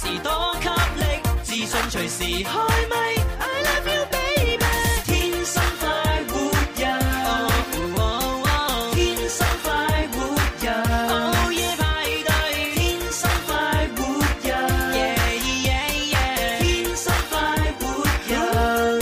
時多給力，自信隨時開咪。I love you baby， 天生快活人，天生快活人，午夜派對，天生快活人，天生快活人，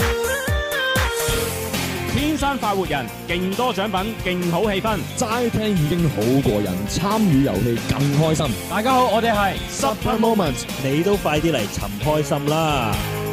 天生快活人，勁多獎品，勁好氣氛， 齋聽已經好過癮，參與遊戲更開心。 大家好，我哋係 Super Moment， 你都快啲嚟尋開心啦！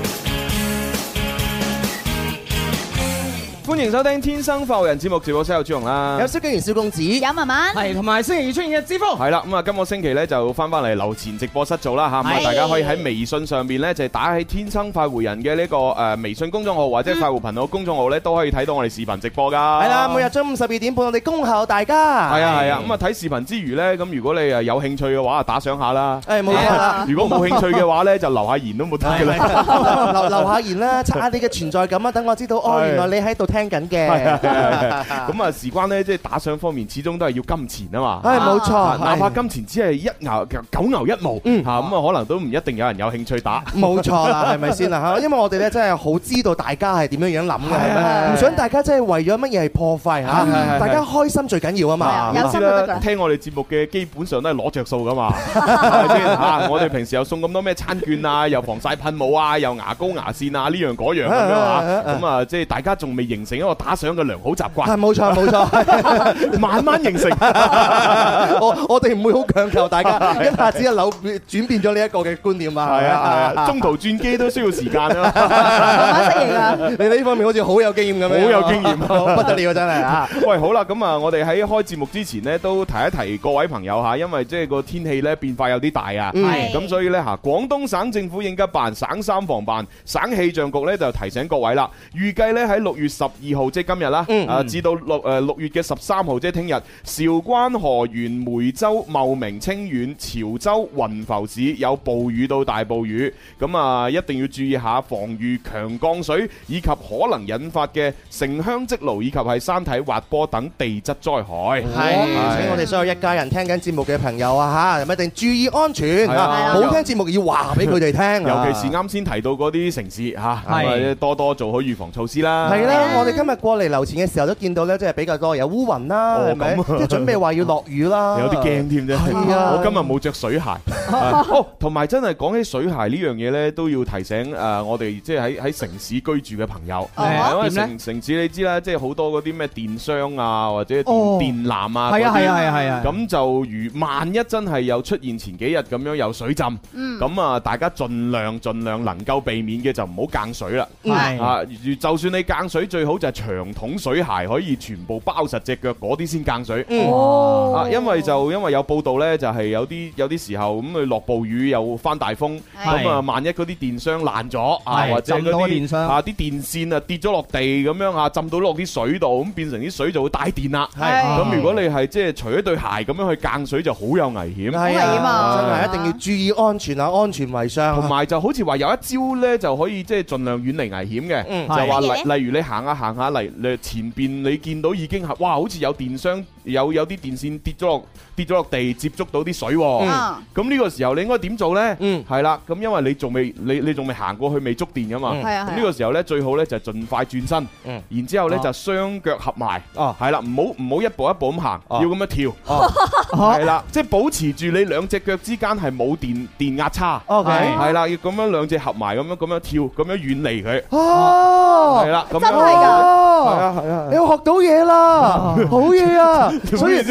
歡迎收聽《天生快活人》節目，直播室有朱紅啦， 有蕭敬元、蕭公子， 有文文， 係同埋星期二出現嘅之風。 係啦，咁啊，今個星期咧就翻嚟樓前直播室做啦嚇，咁啊，大家可以喺微信上邊咧就打喺天生快活人嘅呢個微信公眾號或者快活頻道公眾號咧都可以睇到我哋視頻直播噶。 係啦，每日中午12點半，我哋恭候大家。 係啊係啊，咁啊睇視頻之餘咧，咁如果你誒有興趣嘅話，打賞下啦。 誒冇錯啦。 如果冇興趣嘅話咧，就留下言都冇得嘅啦。 留下言啦，刷下你嘅存在感啊，等我知道哦，原來你喺度聽緊嘅。 咁啊，事關咧，即係打賞方面，始終都係要金錢啊嘛。 係冇錯， 哪怕金錢只係1牛9牛1毛，嚇咁啊，可能都唔一定有人有興趣打。 冇錯啦，係咪先啦嚇？因為我哋咧真係好知道大家係點樣諗嘅，唔想大家真係為咗乜嘢係破費嚇，大家開心最緊要啊嘛。 有心就得㗎。 聽我哋節目嘅基本上都係攞着數噶嘛，係咪先嚇？我哋平時又送咁多咩餐券啊，又防曬噴霧啊，又牙膏牙線啊，呢樣嗰樣咁樣嚇。咁啊，即係大家仲未形成一個打賞嘅良好習慣。 係冇錯冇錯， 慢慢形成。 我哋唔會好強求大家一下子一扭轉變咗呢一個嘅觀念啊。 係啊係啊，中途轉機都需要時間啊。 慢慢適應啊！ 你呢方面好似好有經驗咁樣， 好有經驗， 不得了真係啊！ 喂，好啦，咁啊，我哋喺開節目之前呢，都提一提各位朋友嚇，因為即係個天氣咧變化有啲大啊，咁所以咧嚇，廣東省政府應急辦、省三防辦、省氣象局咧就提醒各位啦，預計咧喺6月12號即係今日啦，至到6月嘅13號即係聽日，韶關、河源、梅州、茂名、清遠、潮州、雲浮市有暴雨到大暴雨，咁啊一定要注意下防禦強降水以及可能引發嘅城鄉積澇以及係山體滑坡等地質災害。 係，請我哋所有一家人聽緊節目嘅朋友啊嚇，一定注意安全，好聽節目要話俾佢哋聽， 尤其是啱先提到嗰啲城市嚇，多多做好預防措施啦。 係啦，我哋今日過嚟樓前嘅時候都見到咧，即係比較多有烏雲啦，係咪？即係準備話要落雨啦， 有啲驚添啫。 係啊， 我今日冇着水鞋。哦，同埋真係講起水鞋呢樣嘢咧，都要提醒我哋即係喺城市居住嘅朋友。因為城市你知啦，即係好多嗰啲咩電商啊，或者電纜啊， 係啊。 咁就如萬一真係有出現前幾日咁樣有水浸，咁啊大家盡量能夠避免嘅就唔好間水啦。啊，就算你間水，最好就係長筒水鞋，可以全部包實隻腳嗰啲先間水。因為有報道咧，就係有啲時候咁佢落暴雨又翻大風，咁啊萬一嗰啲電箱爛咗啊，或者嗰啲啊啲電線啊跌咗落地咁樣啊，浸到落啲水度，咁變成啲水就會帶電啦。咁如果你係即係除咗對鞋咁樣去間水，就好有危險。 係啊，真係一定要注意安全啊，安全為上。 同埋就好似話有一招咧，就可以即係盡量遠離危險嘅，就話例如你行下嚟，前邊你見到已經係哇，好似有電箱有啲電線跌咗落地，接觸到啲水。咁呢個時候你應該點做呢？係啦，咁因為你仲未行過去，未觸電噶嘛。咁呢個時候呢，最好呢就盡快轉身，然之後呢就雙腳合埋。係啦，唔好一步一步咁行，要咁樣跳。係啦，即係保持住你兩隻腳之間係冇電壓差。係啦，要咁樣兩隻合埋咁樣跳，咁樣遠離佢。係啦，咁樣真係㗎。 係啊， 你學到嘢啦，好嘢啊！所以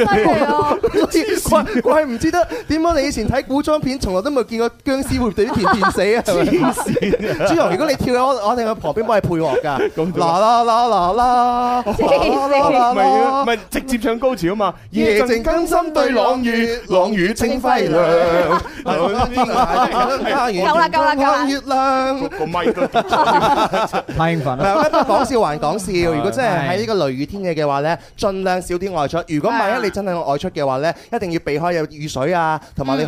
怪唔知得點解你以前睇古裝片，從來都冇見過僵屍會俾電死啊！黐線！朱紅，如果你跳嘅，我哋喺旁邊幫你配樂㗎。啦啦啦啦啦！ 唔係直接唱高潮啊嘛！夜靜更深對朗月，朗月清輝亮。 夠啦！ 月亮個咪都太興奮啦！ 講笑還講笑，如果真係喺呢個雷雨天氣嘅話咧，盡量少啲外出。如果萬一你真係外出嘅話咧，一定要避開有雨水啊，同埋你可能會有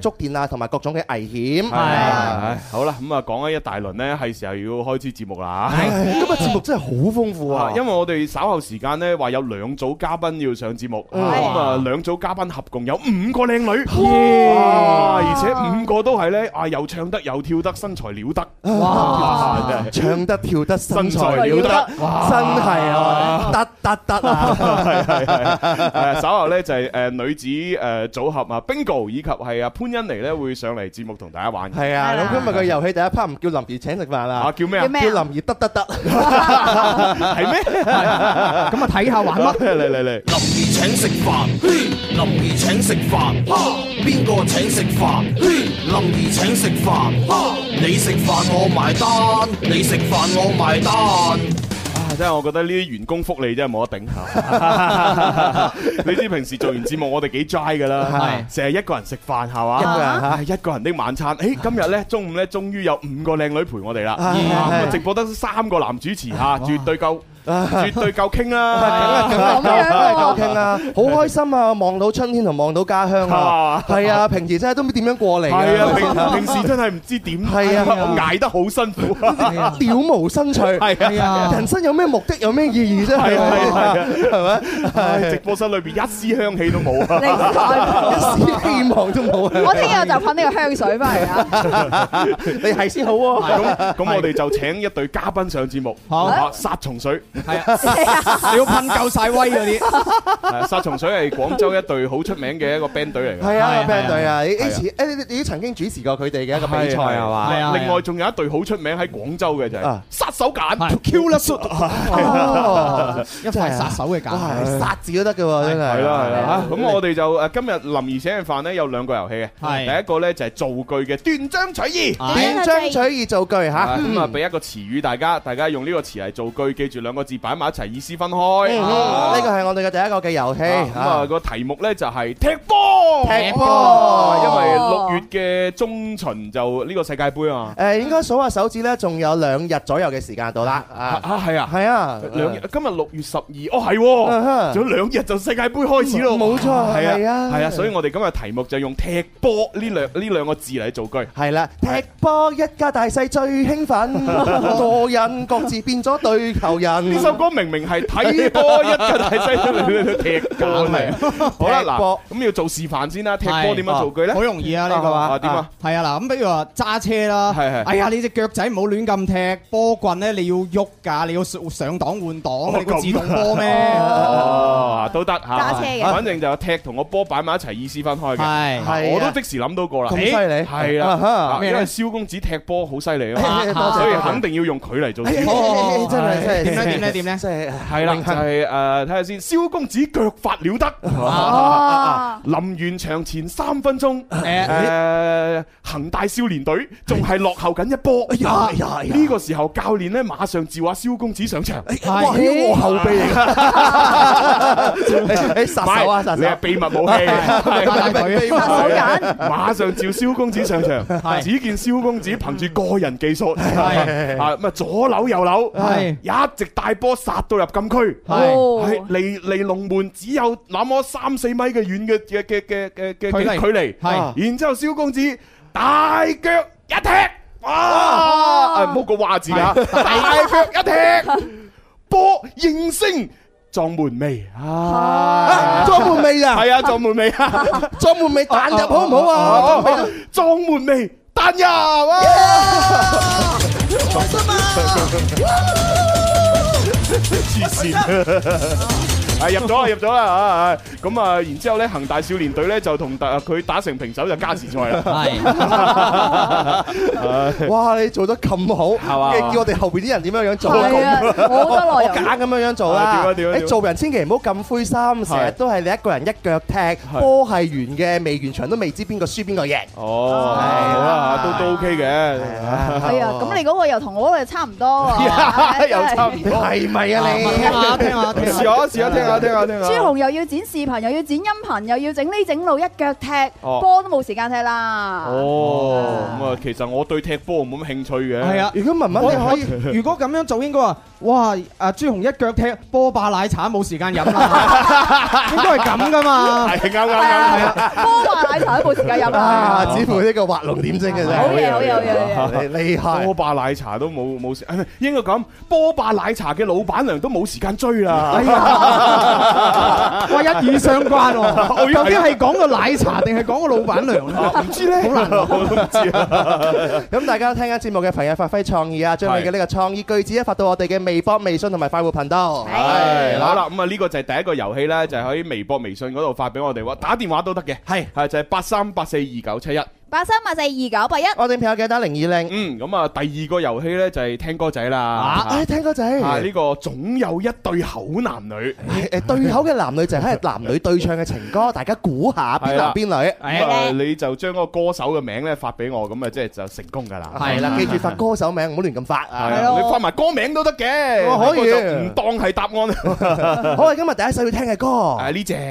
觸電啊，同埋各種嘅危險。 係好啦，咁啊講咗一大輪呢，係時候要開始節目啦。 今日節目真係好豐富啊！ 因為我哋稍後時間呢話有2組嘉賓要上節目，咁啊2組嘉賓合共有5個靚女，而且5個都係呢，又唱得又跳得，身材了得。哇！ 唱得跳得，身材了得，真係啊！得啊！ 係稍後咧就係女子組合啊 Bingo 以及係潘欣妮咧會上嚟節目同大家玩。 係啊，咁今日嘅遊戲第一 part 唔叫林怡請食飯啊， 叫咩啊？ 叫林怡得， 係咩？ 咁啊睇下玩乜？ 嚟！ 林怡請食飯，林怡請食飯，邊個請食飯？林怡請食飯，你食飯我埋單，你食飯我埋單。 真係我覺得呢啲員工福利真係冇得頂下。你知平時做完節目我哋幾 dry 㗎啦，成日一個人食飯係嘛？一個人的晚餐。今日咧中午咧終於有5個靚女陪我哋啦。直播得3個男主持嚇，絕對夠傾啦， 夠傾啦，好開心啊！望到春天同望到家鄉啊，係啊！平時真係都唔知點樣過嚟。 係啊，平時真係唔知點。係啊，我捱得好辛苦， 了無生趣。係啊，人生有咩目的，有咩意義啫？係咪？直播室裏邊一絲香氣都冇， 一絲希望都冇。 我聽日就噴呢個香水翻嚟啊！ 你係先好喎。 咁我哋就請一隊嘉賓上節目，殺蟲水。 係啊，你要噴夠晒威嗰啲。 殺蟲水係廣州一隊好出名嘅一個 band 隊嚟嘅。 係啊 band 隊啊，你都曾經主持過佢哋嘅一個比賽係嘛？ 係啊。另外仲有一隊好出名喺廣州嘅就係殺手鐧 Killer Shoot。 一塊殺手嘅鐧， 殺字都得嘅喎，真係。 係啦。咁我哋就今日林怡請嘅飯咧有2個遊戲嘅。第一個咧就係造句嘅斷章取義。 斷章取義造句嚇。 咁啊俾一個詞語大家用呢個詞嚟造句，記住2個字擺埋一齊，意思分開。 呢個係我哋嘅第一個嘅遊戲。 咁啊個題目咧就係踢波。踢波，因為6月嘅中旬就呢個世界盃啊。 應該數下手指咧，仲有2日左右嘅時間到啦。 係啊， 係啊 ，2日。今日6月12，係，仲有2日就世界盃開始咯。 冇錯，係啊， 係啊，所以我哋今日題目就用踢波呢兩個字嚟造句。 係啦，踢波一家大細最興奮，個人各自變咗對球人。 呢首歌明明係睇波一家大細嚟踢波嚟。好啦，嗱，咁要做示範先啦。踢波點樣造句咧？ 好容易啊，呢個話點啊？ 係啊，嗱，咁比如話揸車啦，哎呀，你隻腳仔唔好亂咁踢，波棍咧你要喐㗎，你要上檔換檔，你個自動波咩？ 都得嚇。 揸車嘅， 反正就踢同個波擺埋一齊，意思分開嘅。 係， 我都即時諗到過啦。 咁犀利， 係啦，因為蕭公子踢波好犀利啊嘛，所以肯定要用佢嚟做。 真係點咧？ 真係係啦，就係睇下先。蕭公子腳法了得，臨完場前3分鐘，恒大少年隊仲係落後緊1波。呢個時候教練咧馬上召阿蕭公子上場。 哇！我後備嚟㗎，你殺手啊！ 你係秘密武器， 殺手鐧。 馬上召蕭公子上場。只見蕭公子憑住個人技術，咁啊左扭右扭，一直帶波殺到入禁區，離龍門只有那麼3-4米嘅遠嘅距離，然之後蕭公子大腳一踢，哇！唔好個話字啊！大腳一踢，波應聲撞門楣啊！ 撞門楣啊！ 係啊，撞門楣啊！ 撞門楣彈入好唔好啊？ 撞門楣彈入啊！開心啊！黐線。入咗啦！咁啊，然之後咧，恒大少年隊咧就同佢打成平手，就加時賽啦。 係，哇！你做得咁好，係嘛？叫我哋後邊啲人點樣做？ 係啊，我得內容。 揀咁樣做啦。你做人千祈唔好咁灰心，成日都係你一個人一腳踢，波係圓嘅，未完場都未知邊個輸邊個贏。 哦，好啦，都 OK 嘅。 係啊，咁你嗰個又同我嗰個差唔多喎。 又差唔多， 係咪啊？你聽下， 試下聽下。聽下朱紅又要剪視頻，又要剪音頻，又要整呢整路，一腳踢波都冇時間踢啦。 咁啊，其實我對踢波冇乜興趣嘅。 係啊， 如果文文你可以， 如果咁樣做應該話哇！朱紅一腳踢波霸奶茶冇時間飲啦，應該係咁噶嘛？ 係啱。 波霸奶茶都冇時間飲啦。 似乎呢個畫龍點睛嘅啫。 好嘢， 厲害！ 波霸奶茶都冇時，應該咁，波霸奶茶嘅老闆娘都冇時間追啦。 哎呀，哇，一語相關喎！究竟係講個奶茶定係講個老闆娘咧？ 唔知咧，好難我都唔知啊。 咁大家聽緊節目嘅朋友發揮創意啊，將你嘅呢個創意句子咧發到我哋嘅微博、微信同埋快活頻道。 係好啦，咁啊呢個就係第一個遊戲咧，就係喺微博、微信嗰度發俾我哋，打電話都得嘅。係就係83842971。 83842981。 我哋朋友記得打020。 咁啊第二個遊戲咧就係聽歌仔啦。 聽歌仔。 呢個總有一對口男女。 對口嘅男女就係男女對唱嘅情歌，大家估下邊男邊女。 你就將嗰個歌手嘅名咧發俾我，咁啊即係就成功噶啦。 係啦，記住發歌手名，唔好亂咁發。 你發埋歌名都得嘅， 可以唔當係答案。 好，今日第一首要聽嘅歌。 呢隻。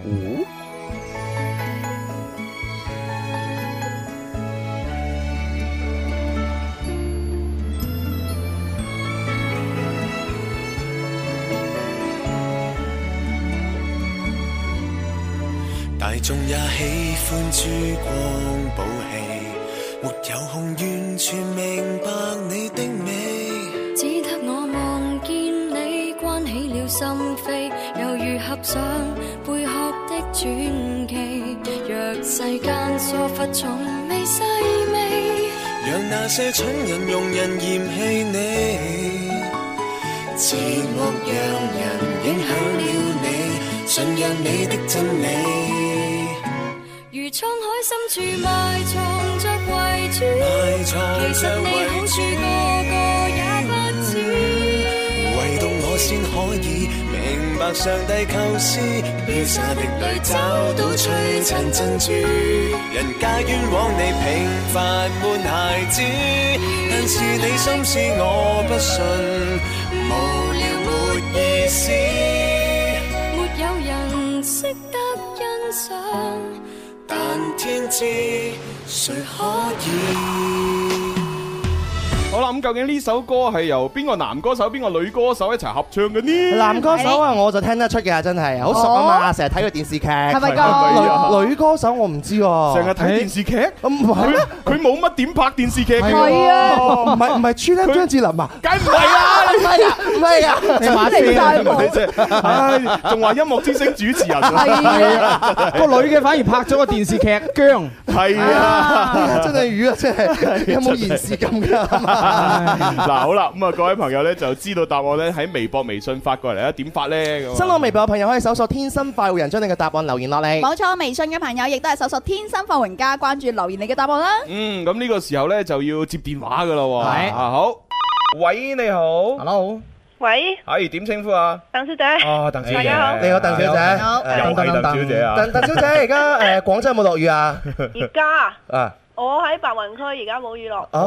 大眾也喜歡珠光寶氣，沒有空完全明白你的美， 只得我望見你關起了心扉，猶如合上貝殼的傳奇，若世間疏忽從未細味， 讓那些蠢人庸人嫌棄你，寂寞讓人影響了你，信仰你的真理， 如滄海深處埋藏着遺珠，其實你好處個個也不知， 唯獨我先可以明白上帝構思，飄灑的淚找到璀璨珍珠，人家冤枉你平凡悶孩子，但是你心思我不信，無聊沒意思， 沒有人識得欣賞， 但天知誰可以。 好啦，咁究竟呢首歌係由邊個男歌手、邊個女歌手一齊合唱嘅呢？ 男歌手啊，我就聽得出嘅，真係好熟啊嘛，成日睇佢電視劇。係咪㗎？ 女歌手我唔知喎。 成日睇電視劇？ 唔係， 佢冇乜點拍電視劇嘅。 係啊， 唔係穿咧張智霖啊？ 梗唔係啦， 唔係啊， 你馬飛啊！仲話音樂之星主持人。 係啊，個女嘅反而拍咗個電視劇姜。 係啊， 真係魚啊！真係有冇延時咁㗎？ 嗱，好啦，咁啊，各位朋友咧就知道答案咧喺微博、微信發過嚟啦。點發咧？ 新浪微博嘅朋友可以搜索天生快活人，將你嘅答案留言落嚟。 冇錯，微信嘅朋友亦都係搜索天生快活人家，關注留言你嘅答案啦。 咁呢個時候咧就要接電話噶啦。係好，喂，你好 ，Hello， 喂， 係點稱呼啊？ 鄧小姐。 哦，鄧小姐， 大家好。 你好，鄧小姐。 好， 又係鄧小姐啊。 鄧小姐，而家廣州有冇落雨啊？ 而家啊。我喺白雲區，而家冇雨落。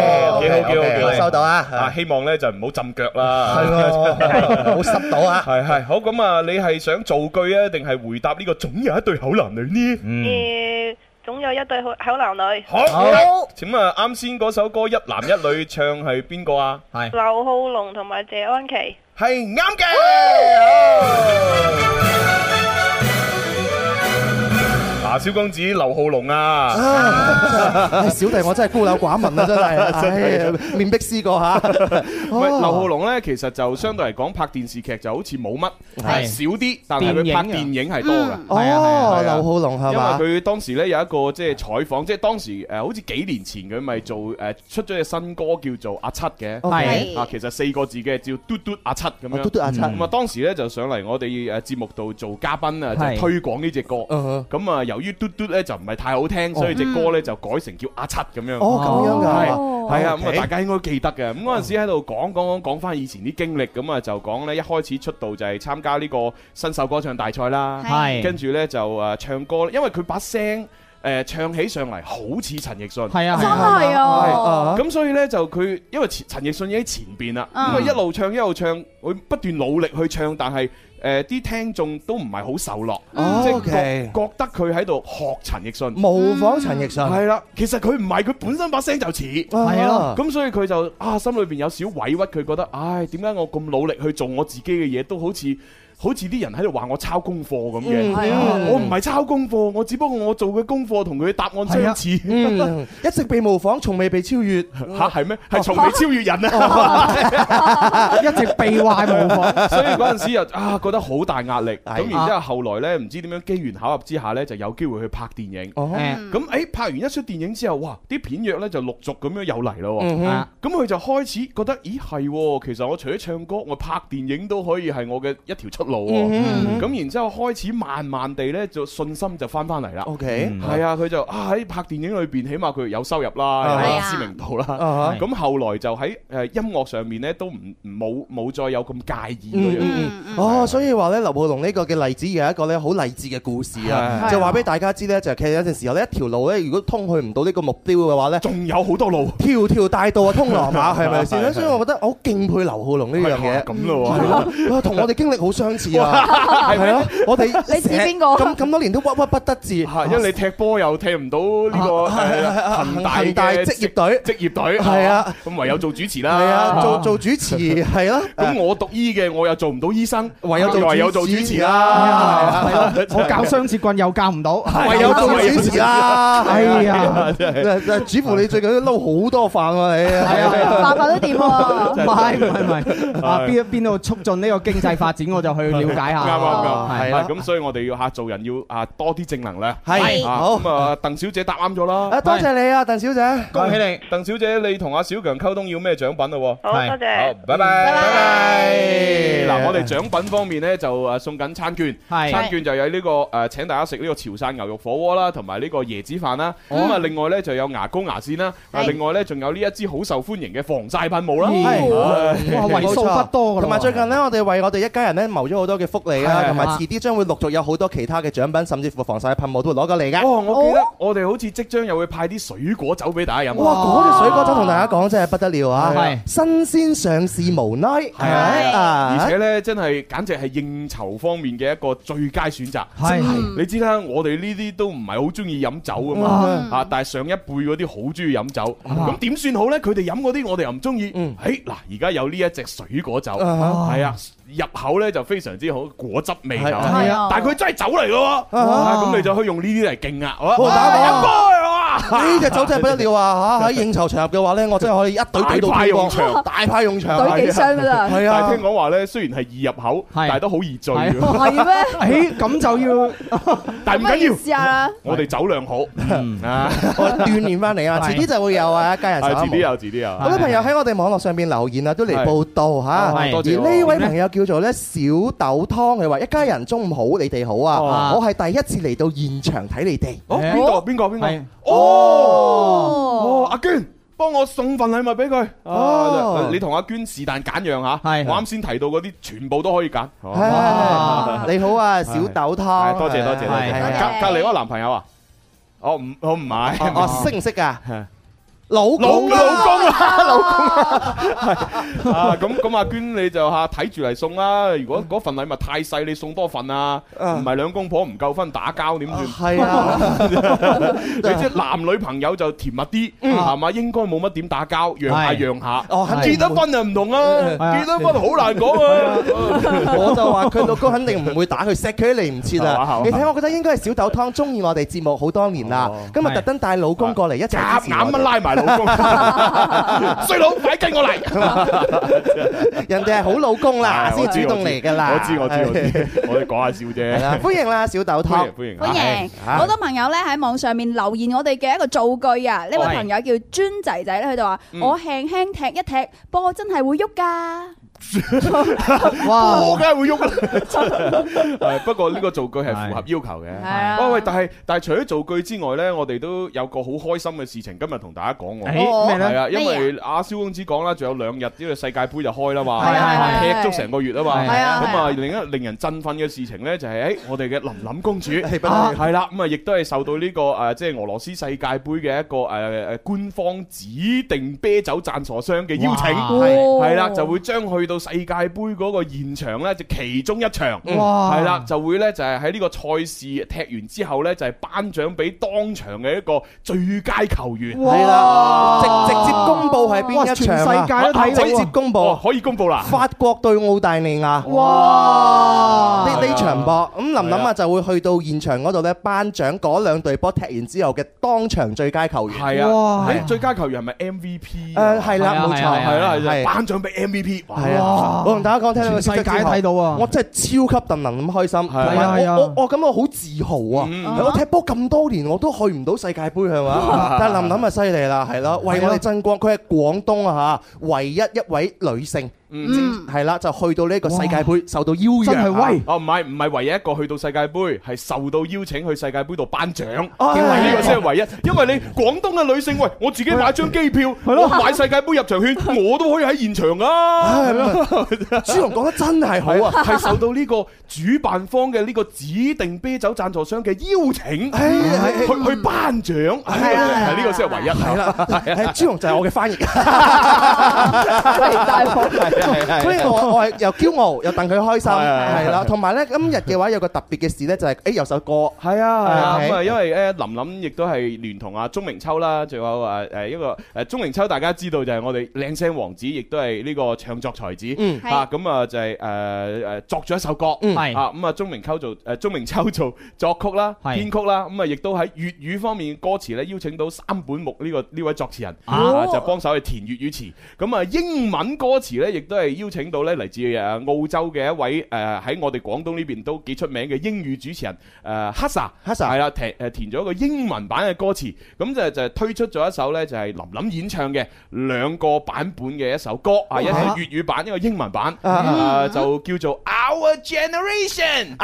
OK，幾好，收到啊！ 希望咧就唔好浸腳啦， 係喎，好濕到啊！ 係好，咁啊，你係想造句啊，定係回答呢個總有一對口男女呢？ 總有一對口男女。 好，請啊，啱先嗰首歌一男一女唱係邊個啊？係劉浩龍同埋謝安琪。 係啱嘅。小公子劉浩龍啊！ 小弟我真係孤陋寡聞啊，真係，面壁思過嚇。 喂，劉浩龍咧，其實就相對嚟講拍電視劇就好似冇乜，少啲，但係佢拍電影係多㗎。 哦，劉浩龍係嘛？ 因為佢當時咧有一個即係採訪，即係當時好似幾年前佢咪做出咗隻新歌叫做阿七嘅， 係啊，其實4個字嘅叫嘟嘟阿七咁樣。 嘟嘟阿七。 咁啊，當時咧就上嚟我哋節目度做嘉賓啊，就推廣呢隻歌。咁啊，由於嘟嘟咧就唔係太好聽，所以隻歌咧就改成叫阿七咁樣。 哦，咁樣㗎， 係啊，咁啊大家應該記得嘅。咁嗰陣時喺度講翻以前啲經歷，咁啊就講咧一開始出道就係參加呢個新秀歌唱大賽啦，跟住咧就唱歌，因為佢把聲唱起上嚟好似陳奕迅， 係啊， 真係啊， 咁所以咧就佢因為陳奕迅已經喺前邊啦，咁啊一路唱，佢不斷努力去唱，但係啲聽眾都唔係好受落，即係覺得佢喺度學陳奕迅， 模仿陳奕迅。 係啦，其實佢唔係，佢本身把聲就似， 係咯。 咁所以佢就心裏邊有少委屈，佢覺得唉，點解我咁努力去做我自己嘅嘢，都好似啲人喺度話我抄功課咁嘅，我唔係抄功課，我只不過我做嘅功課同佢嘅答案相似， 一直被模仿，從未被超越。 嚇係咩？係從未超越人啊！ 一直被壞模仿， 所以嗰陣時又覺得好大壓力。咁然之後後來咧，唔知點樣機緣巧合之下咧，就有機會去拍電影。咁拍完一出電影之後，哇！啲片約咧就陸續咁樣又嚟咯。咁佢就開始覺得，咦係，其實我除咗唱歌，我拍電影都可以係我嘅一條出路。咁然之後開始慢慢地咧，就信心就翻嚟啦。OK，係啊，佢就喺拍電影裏邊，起碼佢有收入啦，有知名度啦。咁後來就喺音樂上面咧，都冇再有咁介意嗰樣。 所以話咧，劉浩龍呢個嘅例子有一個咧好勵志嘅故事啊，就話俾大家知咧，就其實有陣時候咧，一條路咧，如果通去唔到呢個目標嘅話咧， 仲有好多路， 條條大道啊通羅馬，係咪先？所以我覺得我好敬佩劉浩龍呢樣嘢。 咁咯， 同我哋經歷好相似啊，係咯，我哋你指邊個？ 咁多年都鬱鬱不得志， 因為你踢波又踢唔到呢個恒大嘅職業隊，係啊，咁唯有做主持啦， 係啊，做主持係咯。 咁我讀醫嘅，我又做唔到醫生， 唯有做主持啦。我教雙節棍又教唔到， 唯有做主持啦。哎呀，主婦你最近都撈好多飯喎，你係啊，飯都掂喎。 唔係，邊度促進呢個經濟發展，我就去了解下。 啱，係咁，所以我哋要做人要多啲正能量。 係好咁啊，鄧小姐答啱咗啦。 多謝你啊，鄧小姐， 恭喜你，鄧小姐，你同阿小強溝通要咩獎品咯？ 好，多謝。 好，拜拜。嗱，我哋獎品方面咧就送緊餐券，餐券就有呢個請大家食呢個潮汕牛肉火鍋啦，同埋呢個椰子飯啦。咁啊，另外咧就有牙膏牙線啦，另外咧仲有呢一支好受歡迎嘅防曬噴霧啦。 哇，為數不多噶。 同埋最近咧，我哋為我哋一家人咧謀咗好多嘅福利啦，同埋遲啲將會陸續有好多其他嘅獎品，甚至乎防曬噴霧都會攞過嚟㗎。 我記得我哋好似即將又會派啲水果酒俾大家飲。 哇！嗰隻水果酒同大家講真係不得了啊！新鮮上市無奈，係啊！ 而且咧真係簡直係應酬方面嘅一個最佳選擇。係你知啦，我哋呢啲都唔係好中意飲酒㗎嘛，但係上一輩嗰啲好中意飲酒，咁點算好咧？佢哋飲嗰啲我哋又唔中意。嗱，而家有呢一隻水果酒，係啊。入口咧就非常之好，果汁味就係啊，但係佢真係酒嚟嘅喎，咁你就可以用呢啲嚟勁啊！飲杯哇， 呢隻酒真係不得了啊！喺應酬場合嘅話咧，我真係可以一隊隊到派用場， 大派用場， 隊幾箱㗎啦。 係啊，但係聽講話咧，雖然係易入口，但係都好易醉嘅。 係咩？ 咁就要， 但係唔緊要， 試下啦。 我哋酒量好我鍛鍊翻嚟啊！遲啲就會有啊，一家人。 遲啲有。 好多朋友喺我哋網絡上邊留言啊，都嚟報道嚇。而呢位朋友叫做咧小豆湯，佢話一家人中午好，你哋好啊！我係第一次嚟到現場睇你哋。 邊個？阿娟，幫我送份禮物俾佢。你同阿娟是但揀樣嚇。我啱先提到嗰啲全部都可以揀。 你好啊，小豆湯。 多謝。隔離嗰個男朋友啊？我唔係。 識唔識㗎？ 老公啊，係啊，咁阿娟你就睇住嚟送啦。如果嗰份禮物太細，你送多份啊，唔係兩公婆唔夠分打交點算？係啊，你即係男女朋友就甜蜜啲，係嘛？應該冇乜點打交，讓下。結咗婚就唔同啦，結咗婚好難講啊。 我就話佢老公肯定唔會打佢，錫佢都嚟唔切啦。你睇，我覺得應該係小豆湯中意我哋節目好多年啦，今日特登帶老公過嚟一齊支持我哋， 拉埋。老公，衰佬，快跟我嚟！ 人哋係好老公啦，先主動嚟噶啦。 我知，我哋講下笑啫。 歡迎啦，小豆湯， 歡迎！好多朋友咧喺網上面留言我哋嘅一個造句啊！呢位朋友叫尊仔仔咧，佢就話：我輕輕踢一踢波，真係會喐㗎。 哇！我梗係會喐啦。不過呢個造句係符合要求嘅。喂，但係除咗造句之外咧，我哋都有個好開心嘅事情，今日同大家講喎。 咩咧？ 係啊，因為阿蕭公子講啦，仲有2日呢個世界盃就開啦嘛，踢足成個月啊嘛。咁啊，另一令人振奮嘅事情咧，就係我哋嘅琳琳公主係啦，咁啊，亦都係受到呢個即係俄羅斯世界盃嘅一個官方指定啤酒贊助商嘅邀請，係啦，就會將去去到世界盃嗰個現場咧，就其中一場， 哇， 係啦，就會咧就係喺呢個賽事踢完之後咧，就係頒獎俾當場嘅一個最佳球員。 係啦，直接公佈係邊一場啊？ 全世界都睇到， 直接公佈， 可以公佈啦。 法國對澳大利亞。 哇！ 呢場波咁林琳啊就會去到現場嗰度咧頒獎嗰兩隊波踢完之後嘅當場最佳球員。 係啊，喺最佳球員係咪 MVP？ 係啦，冇錯， 係啦，係頒獎俾 MVP。 係啊，我同大家講，聽到世界睇到啊， 我真係超級戥林咁開心。係啊，我感覺好自豪啊！我踢波咁多年，我都去唔到世界盃係嘛？但係林琳啊犀利啦，係咯，為我哋爭光。佢係廣東啊嚇，唯一一位女性。係啦，就去到呢個世界盃受到邀約， 真係威！ 哦，唔係唯一一個去到世界盃，係受到邀請去世界盃度頒獎。呢個先係唯一，因為你廣東嘅女性，喂，我自己買張機票，我買世界盃入場券，我都可以喺現場啊！ 朱紅講得真係好啊， 係受到呢個主辦方嘅呢個指定啤酒贊助商嘅邀請，去頒獎。係呢個先係唯一。 係啦，朱紅就係我嘅翻譯。所以我係又驕傲又戥佢開心，係啦。同埋咧，今日嘅話有個特別嘅事咧，就係有首歌， 係啊，咁啊，因為咧林琳亦都係聯同阿鐘明秋啦，仲有一個鐘明秋，大家知道就係我哋靚聲王子，亦都係呢個唱作才子，咁啊就係作咗一首歌，咁啊鐘明秋做作曲啦、編曲啦，咁啊亦都喺粵語方面歌詞咧邀請到三本木呢位作詞人，就幫手去填粵語詞，咁啊英文歌詞咧亦都係邀請到咧嚟自澳洲嘅一位喺我哋廣東呢邊都幾出名嘅英語主持人Hasa 係啦，填咗一個英文版嘅歌詞，咁就推出咗一首咧就係林琳演唱嘅兩個版本嘅一首歌，一個粵語版，一個英文版，就叫做 Our Generation。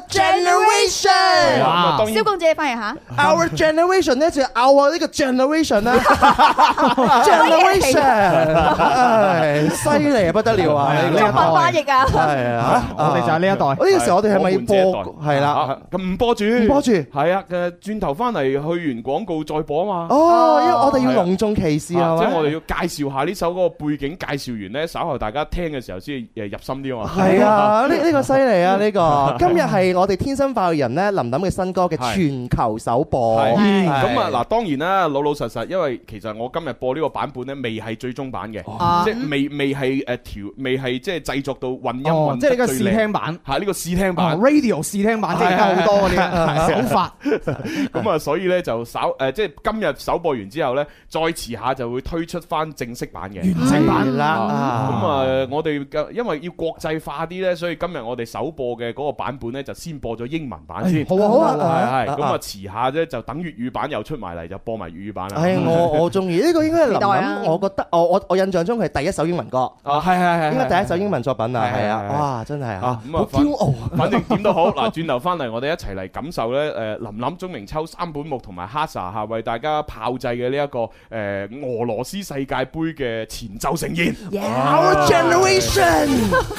哇！蕭公姐翻譯下 ，Our Generation 咧就係 Our 呢個 Generation 啦，Generation，犀利啊，不得了啊！ 中文翻譯啊， 係啊， 我哋就係呢一代。 呢個時候我哋係咪要播？係啦， 咁唔播住，係啊，轉頭翻嚟去完廣告再播啊嘛。 哦，因為我哋要隆重其事啊， 即係我哋要介紹下呢首嗰個背景，介紹完咧，稍後大家聽嘅時候先入心啲啊嘛。 係啊，呢個犀利啊！呢個今日係我哋天生快活人咧林琳嘅新歌嘅全球首播。 咁啊嗱，當然啦，老實，因為其實我今日播呢個版本咧，未係最終版嘅，即係未係未係即係製作到混音， 即係呢個試聽版， 係呢個試聽版 ，radio 試聽版，即係而家好多嗰啲手法。 咁啊，所以咧就即係今日首播完之後咧，再遲下就會推出翻正式版嘅完整版啦。咁啊，我哋因為要國際化啲咧，所以今日我哋首播嘅嗰個版本咧，就先播咗英文版先。 好啊， 係咁啊，遲下咧就等粵語版又出埋嚟，就播埋粵語版啦。 係我中意呢個應該係林琳，我覺得我印象中係第一首英文歌。 係應該第一首英文作品啊，係啊，哇，真係啊， 咁啊，驕傲。反正點都好，嗱，轉頭翻嚟，我哋一齊嚟感受咧，林琳、鐘明秋、三本木同埋 Hasa 嚇為大家炮製嘅呢一個俄羅斯世界盃嘅前奏盛宴。 Our Generation。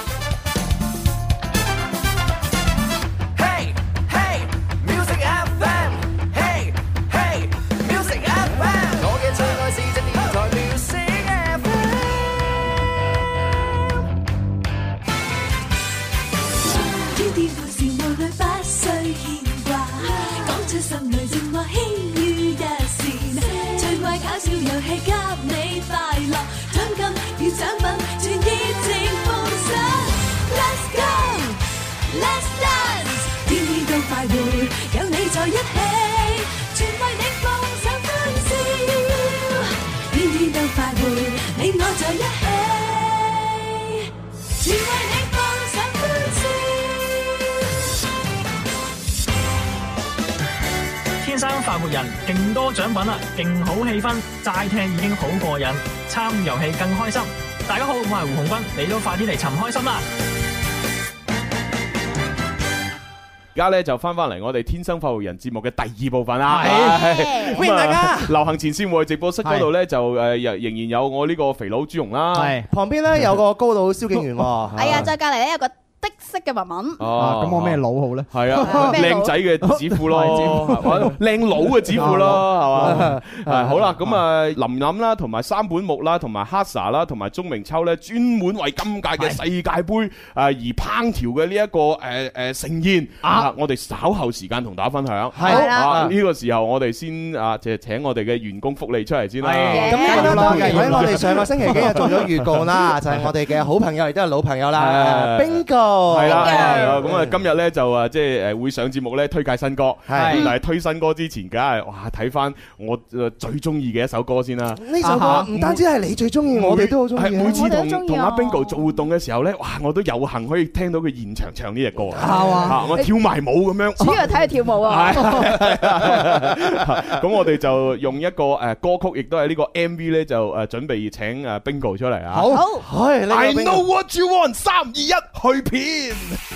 天生快活人，勁多獎品啦，勁好氣氛，齋聽已經好過癮，參與遊戲更開心。大家好，我係胡鴻鈞，你都快啲嚟尋開心啦！ 而家咧就翻嚟我哋天生快活人節目嘅第二部分啦， 歡迎大家！ 流行前線戶外直播室嗰度咧就仍然有我呢個肥佬朱蓉啦， 旁邊咧有個高佬蕭敬元喎， 係啊，再隔離咧有個的式嘅文文。 哦，咁我咩佬好咧？ 係啊，靚仔嘅指褲咯，靚佬嘅指褲咯，係嘛？係好啦，咁啊，林林啦，同埋三本木啦，同埋黑 sa 啦，同埋鐘明秋咧，專門為今屆嘅世界盃而烹調嘅呢一個盛宴啊，我哋稍後時間同大家分享。 係啦，呢個時候我哋先即係請我哋嘅員工福利出嚟先啦。 咁呢個當然喺我哋上個星期幾日做咗預告啦，就係我哋嘅好朋友亦都係老朋友啦，Bingo。 係啦，咁啊今日咧就即係會上節目咧推介新歌，但係推新歌之前，梗係哇睇翻我最中意嘅一首歌先啦。 呢首歌唔單止係你最中意，我哋都好中意。 每次同阿 Bingo 做活動嘅時候咧，哇我都有幸可以聽到佢現場唱呢隻歌啊！我跳埋舞咁樣， 主要係睇佢跳舞啊！ 咁我哋就用一個歌曲，亦都係呢個 MV 咧，就準備請Bingo 出嚟啊！ 好 ，I know what you want， 3、2、1去片。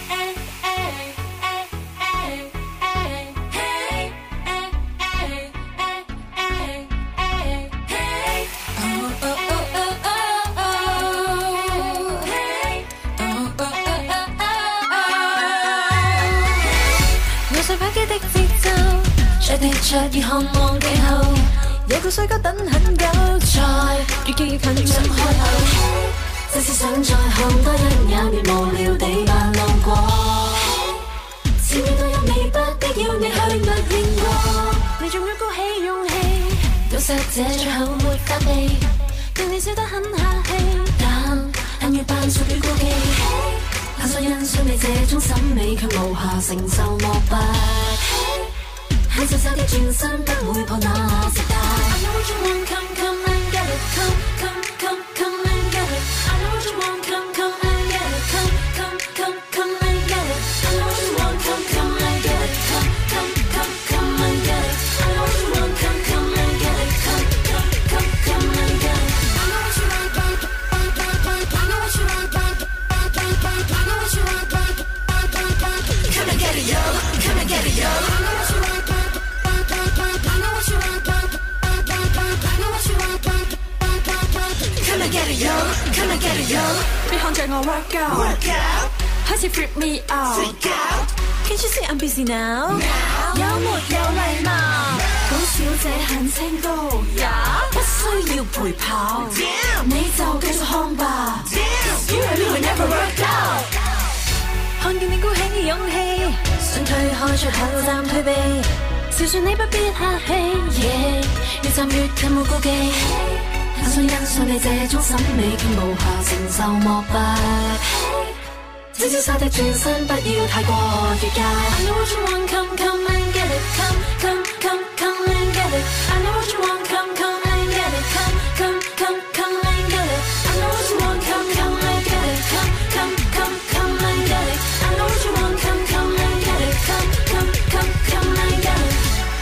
我想擺機的節奏，着地着熱渴望地後，有個衰哥等很久，再越極越近怎開口？即使想再看多一眼，別無聊地扮路過。前面都有你，不必要你去默認過。你仲要鼓起勇氣，到實這最後沒法避，對你笑得很客氣，但恨越扮屬於顧忌。很想欣賞你這種審美，卻無暇承受膜拜。很瀟灑的轉身，不會破那時代。I know what you want, come come and get it, come come come come and get it. I know what you want, come come and get it, come come come come and get it. I know what you want, come come and get it, come come come come and get it. I know what you want, come come and get it, come come come come and get it. I know what you want, I know what you want, I know what you want, come and get it, yo, come and get it, yo. I know what you want. Come and get it, yo, come and get it, yo. 別看着我 work out， 開始 freak me out。Can't you see I'm busy now？ 有沒有禮貌？本小姐很清高，不需要陪跑，你就繼續看吧。You and me will never work out。看見你鼓起勇氣，想推開出口暫退避，笑說你不必客氣，越站越近無顧忌。很想欣賞你這種審美，卻無暇承受膜拜。只瀟灑的轉身，不要太過越界。I know what you want, come come and get it, come come come come and get it. I know what you want, come come and get it, come come come come and get it. I know what you want, come come and get it, come come come come and get it. I know what you want, come come and get it, come come come come and get it.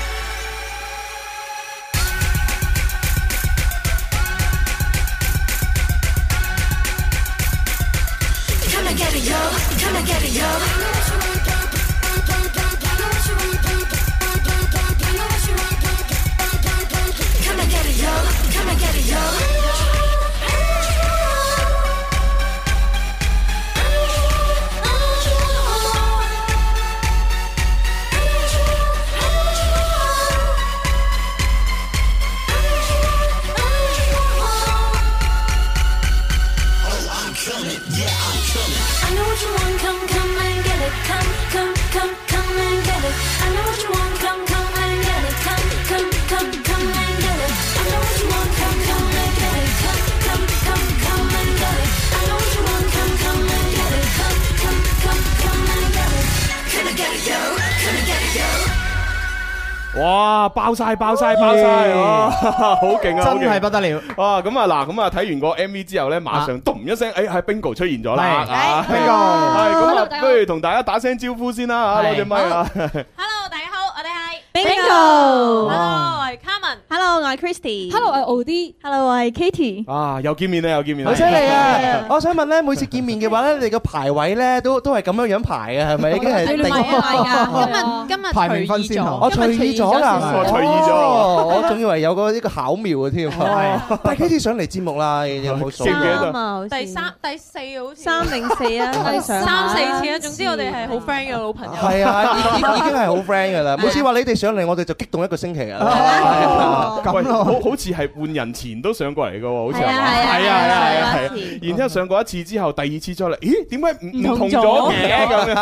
哇！爆晒，好勁啊！ 真係不得了！ 哇！咁啊嗱，咁啊睇完個 MV 之後咧，馬上咚一聲，係 Bingo 出現咗啦！Bingo，係咁啊，不如同大家打聲招呼先啦嚇，攞隻咪啊 ！Hello，大家好，我哋係 Bingo。 Hello，我係 Carmen。 Hello， 我係 Christy。Hello， 我係 Od。Hello， 我係 Katie。 啊，又見面啦，又見面啦， 好犀利啊！我想問咧，每次見面嘅話咧，你哋個排位咧都係咁樣排嘅，係咪？已經係定㗎。今日排名分先後。 我隨意咗㗎， 隨意咗。 我仲以為有個呢個巧妙嘅添。但係 Katie 上嚟節目啦，有冇數啊？第4好似。3定4啊？3、4次啊！總之我哋係好 friend 嘅老朋友。 係啊，已經係好 friend 㗎啦。每次話你哋上嚟，我哋就激動一個星期㗎啦。 喂，好似係換人前都上過嚟㗎喎，好似係。然之後上過一次之後，第2次再嚟，咦？點解唔同咗嘅咁樣？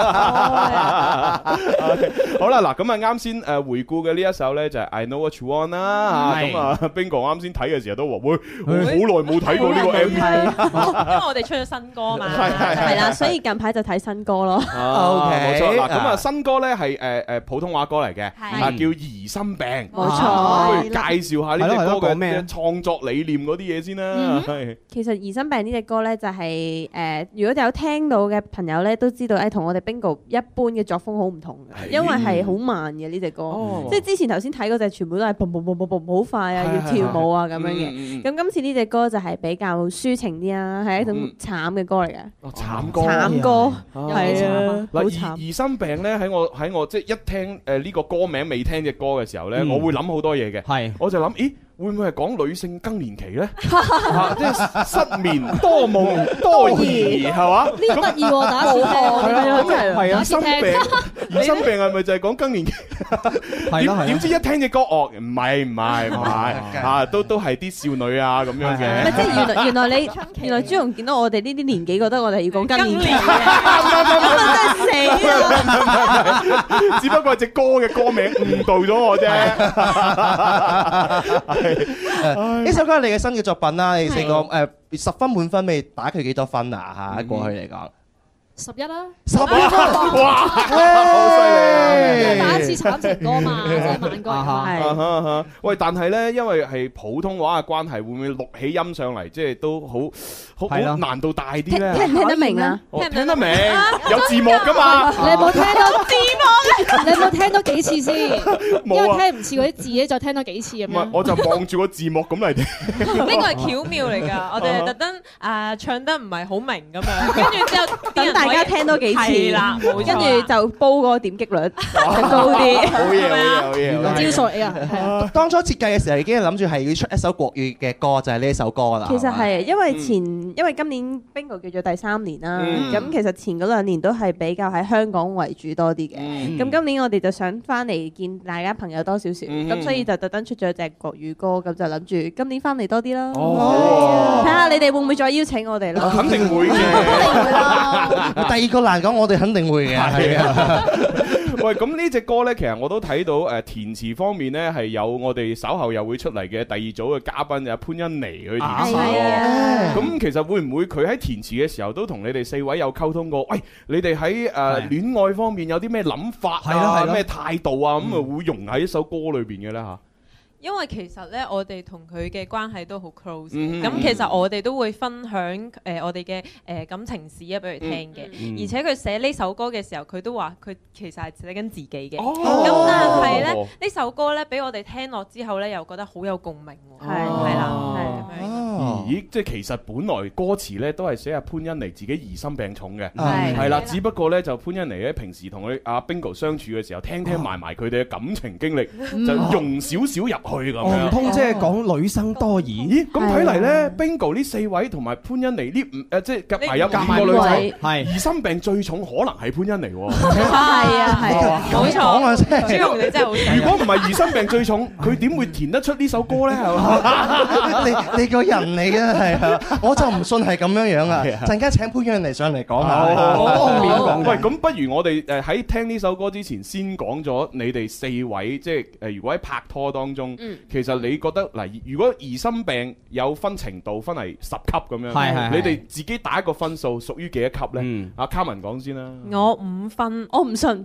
好啦，嗱咁啊，啱先回顧嘅呢一首咧就係 I Know What You Want 啦。咁啊，Bingo 啱先睇嘅時候都話：喂，好耐冇睇過呢個 MV， 因為我哋出咗新歌嘛。係啦，所以近排就睇新歌咯。 OK，冇錯。嗱，咁啊，新歌咧係普通話歌嚟嘅，叫《疑心病》。 冇錯。 介紹下呢隻歌嘅創作理念嗰啲嘢先啦。 其實《疑心病》呢隻歌咧就係如果有聽到嘅朋友咧都知道，同我哋 Bingo 一般嘅作風好唔同嘅，因為係好慢嘅呢隻歌。即係之前頭先睇嗰隻全部都係嘣嘣嘣嘣嘣好快啊，要跳舞啊咁樣嘅。咁今次呢隻歌就係比較抒情啲啊，係一種慘嘅歌嚟嘅。 慘歌。 慘歌係啊，好慘。 疑心病咧喺我即係一聽呢個歌名未聽隻歌嘅時候咧，我會諗好多嘢嘅。係，我就諗，咦？會唔會係講女性更年期咧？即係失眠、多夢、多疑，係嘛？ 呢個得意喎，打次聽。 係啊，心病，疑心病係咪就係講更年期？點知一聽隻歌，哦，唔係啊，都係啲少女啊咁樣嘅。 即係原來朱紅見到我哋呢啲年紀，覺得我哋要講更年期嘅，咁啊真係死啦！ 只不過係隻歌嘅歌名誤導咗我啫。 呢首歌係你嘅新嘅作品啦，你四個10分滿分，你打佢幾多分啊？嚇，過去嚟講。 11啦 ，11分，哇， 好犀利！ 第一次慘情歌嘛，即係慢歌係。 喂，但係咧，因為係普通話嘅關係，會唔會錄起音上嚟，即係都好難度大啲咧？ 聽唔聽得明啊？ 聽得明，有字幕噶嘛？ 你有冇聽到字幕？你有冇聽多幾次先？因為聽唔似嗰啲字咧，就聽多幾次咁樣。 唔係，我就望住個字幕咁嚟聽。 呢個係巧妙嚟㗎，我哋係特登唱得唔係好明咁樣，跟住之後等大家聽多幾次啦，跟住就煲嗰個點擊率就高啲。 好嘢， 招數嚟㗎。 當初設計嘅時候已經諗住係要出一首國語嘅歌，就係呢一首歌啦。 其實係因為今年 Bingo 叫做第3年啦，咁其實前嗰2年都係比較喺香港為主多啲嘅。咁今年我哋就想翻嚟見大家朋友多少少，咁所以就特登出咗隻國語歌，咁就諗住今年翻嚟多啲啦。睇下你哋會唔會再邀請我哋啦？ 肯定會嘅。 第二個難講，我哋肯定會嘅。係啊。 喂，咁呢隻歌呢，其實我都睇到填詞方面呢，係有我哋稍後又會出嚟嘅第2組嘅嘉賓就潘欣妮去填詞。咁其實會唔會佢喺填詞嘅時候都同你哋4位有溝通過？喂，你哋喺戀愛方面有啲咩諗法啊？咩態度啊？咁啊會融喺一首歌裏邊嘅呢？嚇？ 因為其實咧，我哋同佢嘅關係都好 close，咁其實我哋都會分享我哋嘅感情史啊，俾佢聽嘅。而且佢寫呢首歌嘅時候，佢都話佢其實係寫緊自己嘅。咁但係咧，呢首歌咧俾我哋聽落之後咧，又覺得好有共鳴喎。係啦，係咁樣。 咦，即係其實本來歌詞咧都係寫阿潘欣妮自己疑心病重嘅，係啦。只不過咧就潘欣妮咧平時同佢阿 Bingo 相處嘅時候，聽埋佢哋嘅感情經歷，就融少少入去咁樣。 唔通即係講女生多疑？ 咦，咁睇嚟咧 Bingo 呢4位同埋潘欣妮呢即係夾埋有5個女仔，係疑心病最重可能係潘欣妮喎。 係啊，冇錯。朱紅你真係好。 如果唔係疑心病最重，佢點會填得出呢首歌咧？係嘛？ 你個人嚟嘅係啊，我就唔信係咁樣樣啊！陣間請潘欣妮上嚟講下。 當面講。喂，咁不如我哋喺聽呢首歌之前，先講咗你哋4位，即係如果喺拍拖當中，其實你覺得嗱，如果疑心病有分程度，分係10級咁樣，你哋自己打一個分數，屬於幾多級咧？阿卡文講先啦。 我5分，我唔信。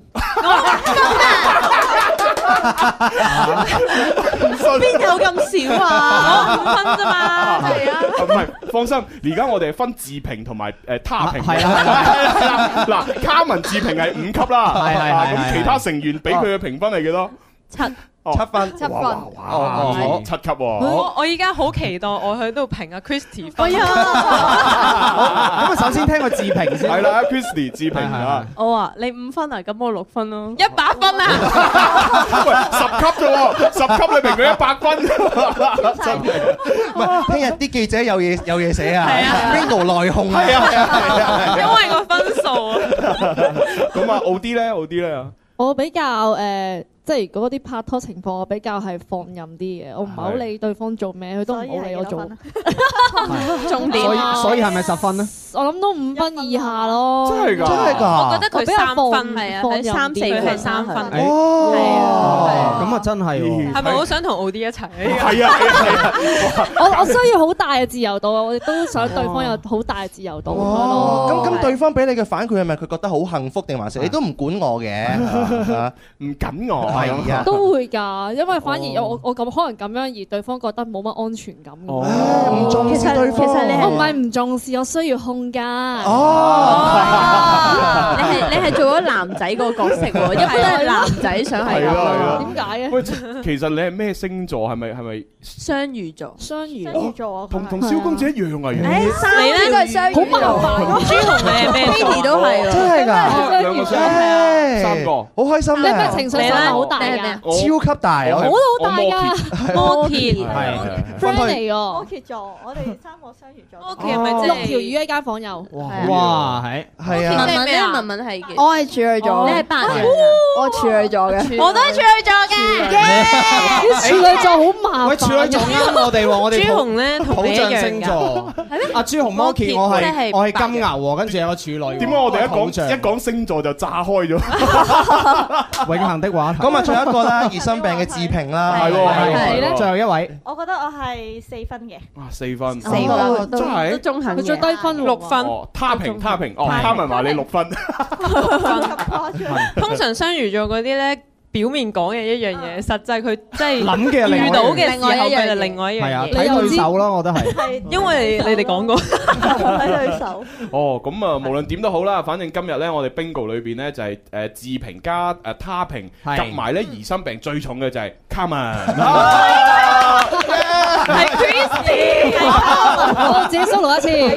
邊有咁少啊？ 我5分啫嘛，係啊。 唔係，放心，而家我哋係分自評同埋他評。係啦，嗱，卡文自評係5級啦，咁其他成員俾佢嘅評分係幾多？ 7分 ，7分， 哇，7級喎！ 我依家好期待我去度評阿 Christy 分。 咁啊，首先聽個自評先。 係啦 ，Christy 自評啊。 我話你5分啊，咁我6分咯。 100分啊！ 喂，10級啫喎，10級你評佢100分，真係。 唔係，聽日啲記者有嘢寫啊，Bingo 內訌啊， 因為個分數啊。 咁啊，奧啲咧， 我比較即係嗰啲拍拖情況，我比較係放任啲嘅，我唔係好理對方做咩，佢都唔好理我做。 重點所以係咪10分咧？ 我諗都5分以下咯。 真係㗎？ 我覺得佢3分， 係啊， 佢3、4分係3分。 哦，咁啊真係喎。 係咪好想同奧啲一齊？ 係啊！ 我需要好大嘅自由度，我亦都想對方有好大嘅自由度。 咁對方俾你嘅反饋係咪佢覺得好幸福定還是你都唔管我嘅？ 唔緊我。 都會㗎，因為反而我咁可能咁樣，而對方覺得冇乜安全感。 唔重視對方， 其實我唔係唔重視，我需要空間。 你係做咗男仔個角色喎，因為都係男仔想係咁。 點解嘅？ 喂，其實你係咩星座？係咪雙魚座？ 雙魚座啊， 同蕭公子一樣啊！ 你咧都係雙魚， 好麻煩。 朱紅你係咩 ？Baby 都係， 真係㗎 ，2個3個， 好開心咧！你咩情緒上好大㗎？ 超級大， 我都好大㗎。 摩羯係 friend 嚟㗎。 摩羯座，我哋3個雙魚座。 摩羯係咪即係 6條魚一間房有？ 哇，係啊！ 文文咧，文文係我係處女座， 你係白羊， 我處女座嘅， 我都係處女座嘅。 處女座好麻煩。 喂，處女座啱我哋喎，我哋朱紅咧同你一樣星座。阿朱紅摩羯，我係金牛喎，跟住有個處女。 點解我哋一講星座就炸開咗？ 永恆的話題。 咁啊，仲有一個啦，疑心病嘅自評啦， 係喎， 最後一位。 我覺得我係4分嘅。 哇，4分， 真係都中肯嘅。佢最低分 6分。 他評，他文話你6分。 通常雙魚座嗰啲咧，表面講嘅一樣嘢，實際佢即係諗嘅遇到嘅時候佢就另外一樣嘢。 係啊，睇對手咯，我覺得係。 因為你哋講過睇對手。 哦，咁啊，無論點都好啦，反正今日咧，我哋 Bingo 裏邊咧就係自評加他評，夾埋咧疑心病最重嘅就係 Carmen。 係 Christy， 我自己 solo 一次。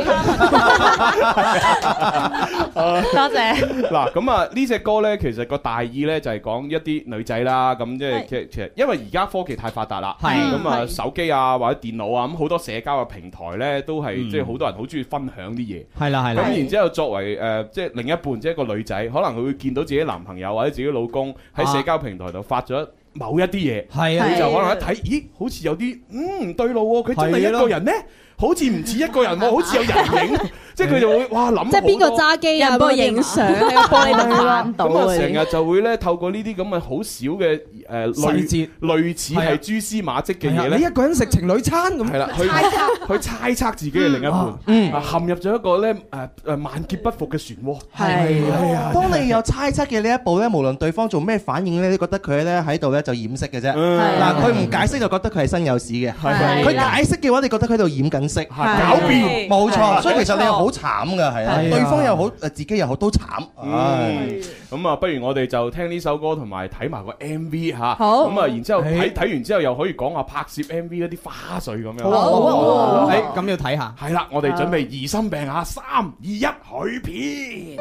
多謝。 嗱，咁啊呢隻歌咧，其實個大意咧就係講一啲女仔啦，咁即係其實因為而家科技太發達啦，咁啊手機啊或者電腦啊，咁好多社交嘅平台咧都係即係好多人好中意分享啲嘢。 係啦。 咁然之後作為即係另一半，即係一個女仔，可能佢會見到自己男朋友或者自己老公喺社交平台度發咗某一啲嘢，佢就可能一睇，咦，好似有啲唔對路喎，佢真係一個人呢？好似唔似一個人喎，好似有人影，即係佢就會哇諗， 即係邊個揸機啊？幫佢影相喺個玻璃度反到。 咁啊，成日就會咧透過呢啲咁嘅好少嘅類似係蛛絲馬跡嘅嘢咧。 你一個人食情侶餐咁， 係啦，去猜測自己嘅另一半，陷入咗一個咧萬劫不復嘅漩渦。 係啊，當你有猜測嘅呢一步咧，無論對方做咩反應咧，你覺得佢咧喺度咧就掩飾嘅啫。嗱，佢唔解釋就覺得佢係身有屎嘅，佢解釋嘅話，你覺得佢喺度掩緊。狡辯，冇錯，所以其實你係好慘㗎，係啊，對方又好，自己又好，都慘。 咁啊，不如我哋就聽呢首歌，同埋睇埋個 MV 嚇。 好。 咁啊，然之後睇完之後，又可以講下拍攝 MV 一啲花絮咁樣。 好。咁要睇下。 係啦，我哋準備疑心病嚇，3、2、1，許片。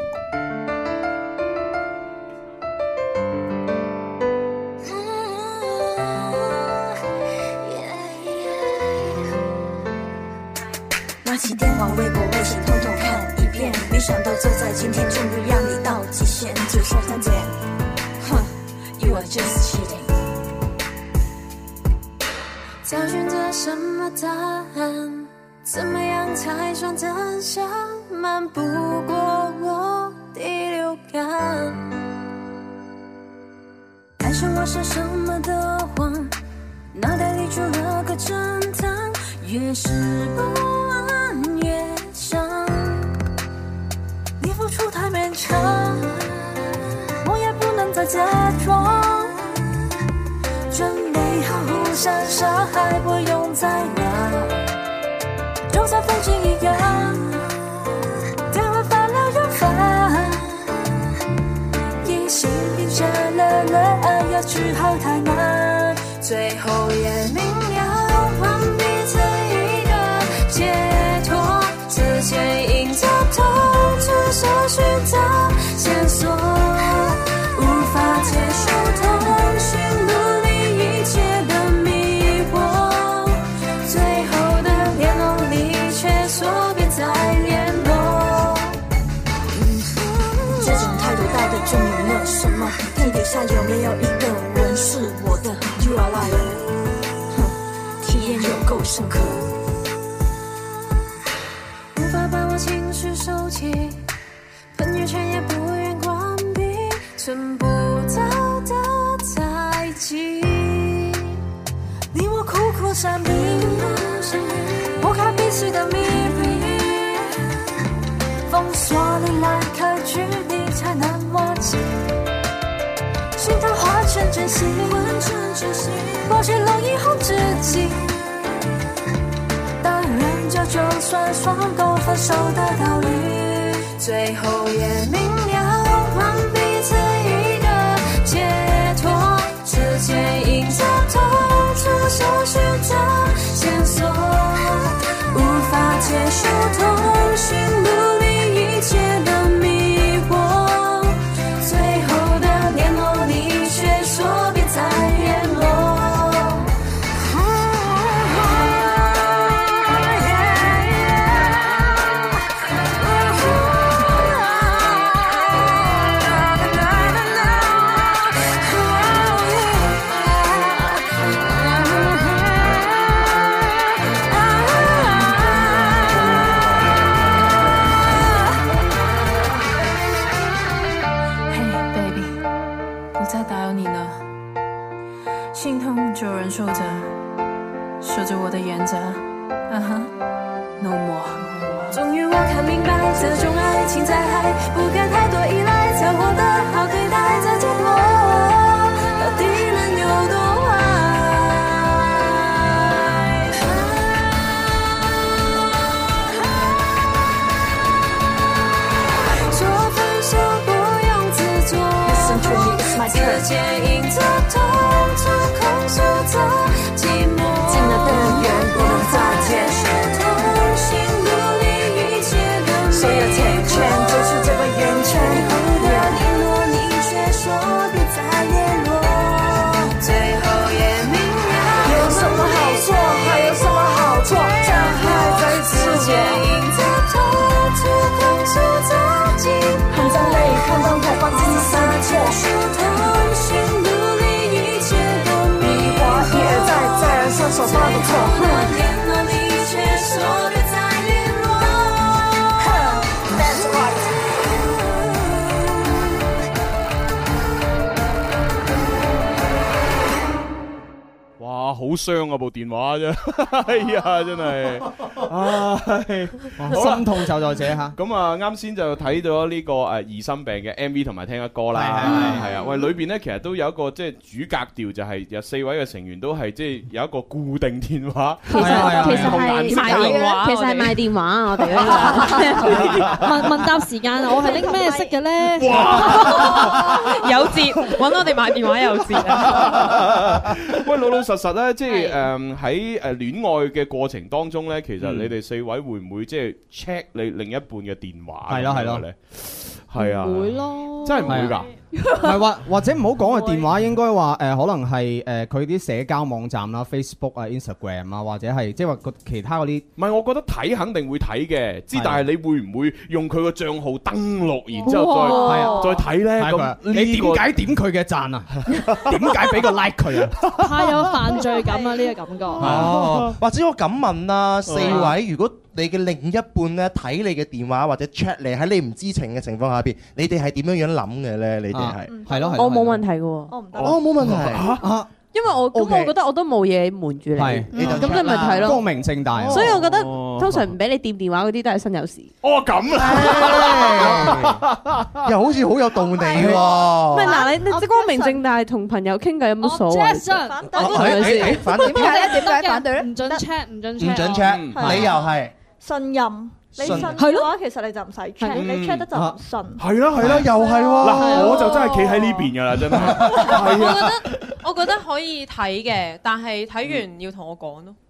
拿起电话、微博、微信，统统看一遍。没想到就在今天，终于让你到极限，最后再见。哼 ，You are just cheating。找寻着什么答案？怎么样才算真相？瞒不过我第六感。爱上我是什么的谎？脑袋里住了个侦探，越是不安越想。你付出太勉强，我也不能再假装。准备好互相伤害，不用再拿，就像风景一样，电话发了又发，疑心病下了了，要治好太难。 这种态度到底证明了什么？地底下有没有一个人是我的 You are liar， 体验有够深刻， 无法把我情绪收起，朋友圈也不愿关闭，存不到的猜忌， 你我苦苦闪避，拨开彼此的秘密，封锁你来开距离才能忘记，心跳化成真心，过去了以后自己，当然这就算双狗分手的道理， 最后也明了还彼此一个解脱，之间隐藏痛楚搜寻着线索，无法结束通讯录里一切的迷惑，最后的联络你却说别再联络，心痛就有人说着，说着我的原则，No more。终于我看明白，这种爱情在海，不该太多依赖，才获得好对待，这结果到底能有多坏？说分手不用自作，之间隐着痛楚，控诉着寂寞， 近了的远不能再见， 通讯录里一切的所有甜圈就是这个圆圈， 联络你却说别再联络，最后也明了有什么好做，还有什么好做，这样还在之间隐着痛楚，控诉着寂寞， 含着泪看到我放自己撒错，通讯录里一切的迷惑， 一而再上手犯的错， 联络你却说别再联络 ，That's right。 哇，好傷啊部電話啫，哎呀，真係，唉， 心痛就在這嚇。 咁啊，啱先就睇到呢個疑心病嘅 MV 同埋聽嘅歌啦，係啊，喂，裏邊咧其實都有一個即係主格調，就係有4位嘅成員都係即係有一個固定電話， 其實係賣電話啊！我哋呢個問答時間，我係拎咩色嘅咧？ 有節揾我哋買電話有節啊！ 喂，老實實咧，即係喺戀愛嘅過程當中咧，其實你哋4位會唔會即係 check 你另一半嘅電話？係咯咧，係啊， 會咯， 真係唔會㗎。 係或者唔好講個電話，應該話可能係佢啲社交網站啦 ，Facebook 啊、Instagram 啊，或者係即係話其他嗰啲。 唔係，我覺得睇肯定會睇嘅，但係你會唔會用佢個帳號登錄，然之後再睇咧？咁你點解點佢嘅讚啊？點解俾個 like 佢啊？ 太有犯罪感啊！呢個感覺。 或者我咁問啦，4位，如果你嘅另一半咧睇你嘅電話或者 check 你喺你唔知情嘅情況下邊，你哋係點樣諗嘅咧？你哋係咯， 我冇問題嘅喎， 我唔得， 我冇問題因為我覺得我都冇嘢瞞住你，咁你咪睇咯， 光明正大。 所以我覺得通常唔俾你掂電話嗰啲都係身有事。 哦，咁啦， 又好似好有道理喎。 唔係嗱，你光明正大同朋友傾偈有冇所謂？ 反對， 點解咧？點解反對咧？ 唔準 check，唔準 check， 唔準 check，理由係信任。你信嘅話，其實你就唔使 check，你 check 得就唔信。 係啦，又係喎。嗱，我就真係企喺呢邊㗎啦，真係。 我覺得可以睇嘅，但係睇完要同我講咯。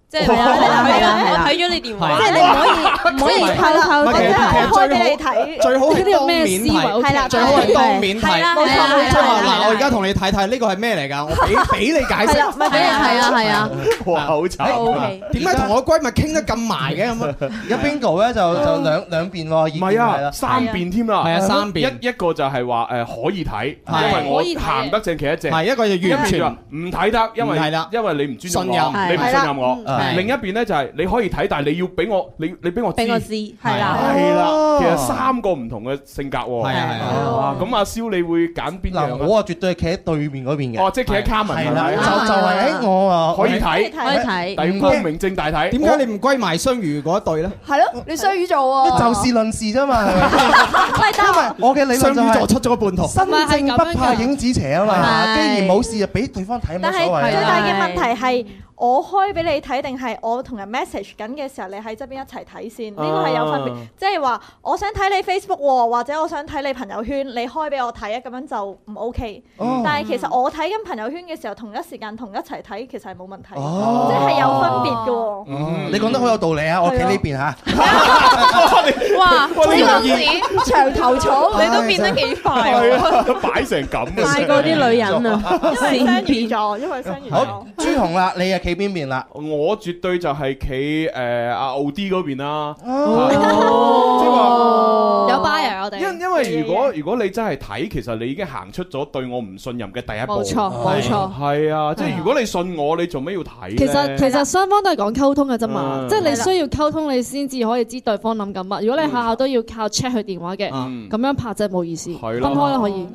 即係我睇咗你電話， 即係你唔可以偷偷地睇，最好係當面睇，係啦，最好係當面睇，冇錯。嗱，我而家同你睇睇呢個係咩嚟㗎？我俾你解釋， 咪俾你係啊， 哇，好慘！ 點解同我閨蜜傾得咁埋嘅咁啊？ 而家 Bingo 咧就兩邊喎， 唔係啊，3邊添啦， 係啊，3邊一個就係話可以睇，因為我行得正企得正， 係一個就完全唔睇得，因為你唔尊重我，你唔信任我。另一邊咧就係你可以睇，但係你要俾我，你俾我知， 係啦， 其實3個唔同嘅性格喎。係啊，咁阿蕭你會揀邊樣？ 我啊絕對係企喺對面嗰邊嘅。 哦，即係企喺卡文。 係啦，就係我啊可以睇，但光明正大睇。 點解你唔歸埋雙魚嗰一對咧？ 係咯，你雙魚座喎。 就事論事啫嘛。因為我嘅理論就係雙魚座出咗個半途， 身正不怕影子斜啊嘛。既然冇事就俾對方睇冇所謂。 但係最大嘅問題係。我開俾你睇定係我同人 message 緊嘅時候，你喺側邊一齊睇先？呢個係有分別，即係話我想睇你 Facebook 喎，或者我想睇你朋友圈，你開俾我睇啊，咁樣就唔 OK。但係其實我睇緊朋友圈嘅時候，同一時間同一齊睇，其實係冇問題，即係有分別嘅喎。 你講得好有道理啊！我企呢邊嚇。 哇！呢個長頭草， 你都變得幾快喎！擺成咁， 快過啲女人啊！ 因為雙魚座。 好，朱紅啦，你啊企邊邊啦？ 我絕對就係企阿奧 D 嗰邊啦。 即係話有 buyer 我哋。 因為如果你真係睇，其實你已經行出咗對我唔信任嘅第一步。 冇錯，冇錯。 係啊，即係如果你信我，你做咩要睇？ 其實雙方都係講溝通嘅啫嘛，即係你需要溝通，你先至可以知對方諗緊乜。如果你下下都要靠 check 佢電話嘅，咁樣拍真係冇意思。分開啦可以。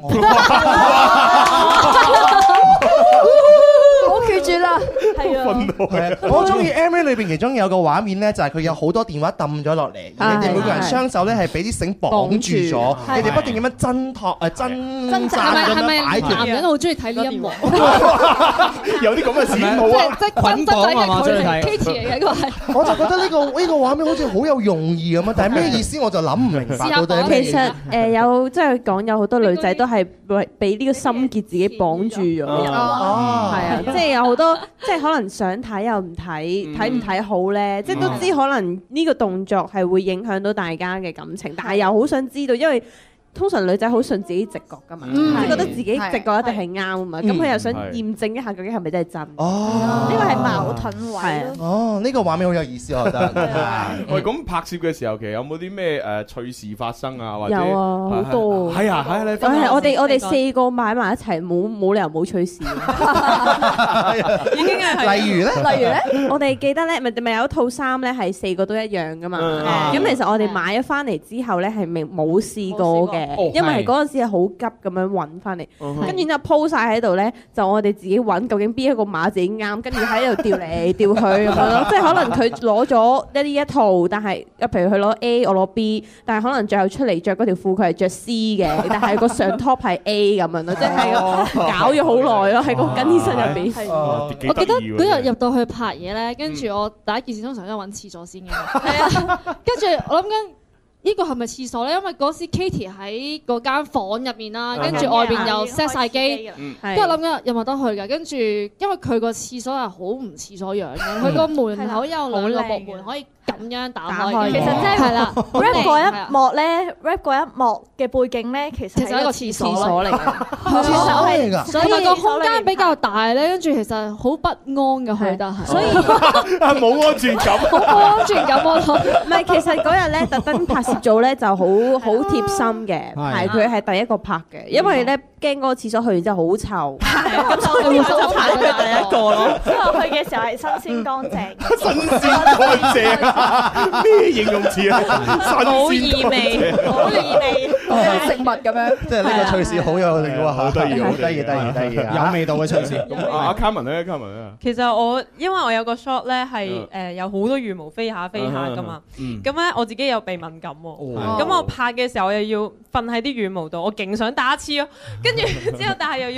我決絕啦，係啊！我中意 MV 裏邊其中有個畫面咧，就係佢有好多電話抌咗落嚟，你哋每個人雙手咧係俾啲繩綁住咗，你哋不斷咁樣掙扎咁樣擺脫。 男人好中意睇呢一幕， 有啲咁嘅事冇啊！ 即係捆綁係嘛，中意睇 Kitty 嚟嘅呢個係。 我就覺得呢個畫面好似好有用意咁啊！但係咩意思我就諗唔明白到底。 其實有即係講有好多女仔都係俾呢個心結自己綁住咗，係啊，即係有好多即係可能想睇又唔睇，睇唔睇好咧，即係都知可能呢個動作係會影響到大家嘅感情，但係又好想知道，因為通常女仔好信自己直覺㗎嘛，即係覺得自己直覺一定係啱啊嘛，咁佢又想驗證一下究竟係咪真係真。 呢個係矛盾位咯。 哦，呢個畫面好有意思，我覺得。 喂，咁拍攝嘅時候其實有冇啲咩趣事發生啊？或者有啊，好多。 係啊，係我哋4個買埋一齊，冇理由冇趣事。 已經係。 例如咧， 我哋記得咧，咪有一套衫咧係4個都一樣㗎嘛。咁其實我哋買咗翻嚟之後咧係冇試過嘅。因為係嗰陣時係好急咁樣揾翻嚟，跟住之後鋪晒喺度咧，就我哋自己揾究竟邊一個碼自己啱，跟住喺度調嚟調去咁樣咯。即係可能佢攞咗一套，但係譬如佢攞 A， 我攞 B， 但係可能最後出嚟着嗰條褲佢係着 C 嘅，但係個上 top 係 A 咁樣咯，即係搞咗好耐咯喺個更衣室入邊。 我記得嗰日入到去拍嘢咧，跟住我第一件事通常都係揾廁所先嘅，係啊，跟住我諗緊。呢個係咪廁所咧？因為嗰時 Katie 喺嗰間房入面啦，跟住外邊又 set 晒機，跟住諗緊有冇得去㗎。跟住因為佢個廁所係好唔廁所樣嘅，佢個門口有2個木門可以咁樣打開。 其實即係啦 rap 嗰一幕咧 ，rap 嗰一幕嘅背景咧，其實係一個廁所嚟嘅。 廁所嚟㗎， 所以個空間比較大咧，跟住其實好不安嘅去得係。所以冇安全感， 冇安全感我諗。 唔係，其實嗰日咧特登拍攝組咧就好貼心嘅，係佢係第一個拍嘅，因為咧驚嗰個廁所去完之後好臭， 咁所以就拍佢第一個咯。之後去嘅時候係新鮮乾淨， 新鮮乾淨咩形容詞啊？ 好異味， 好異味， 食物咁樣。 即係呢個趣事好有嚟喎，好得意，好得意， 有味道嘅趣事。 咁阿 Carmen 咧，Carmen 咧， 其實因為我有個 shot 咧係有好多羽毛飛下㗎嘛，咁咧我自己有鼻敏感喎。咁我拍嘅時候我又要瞓喺啲羽毛度，我勁想打一次咯，跟住之後但係又要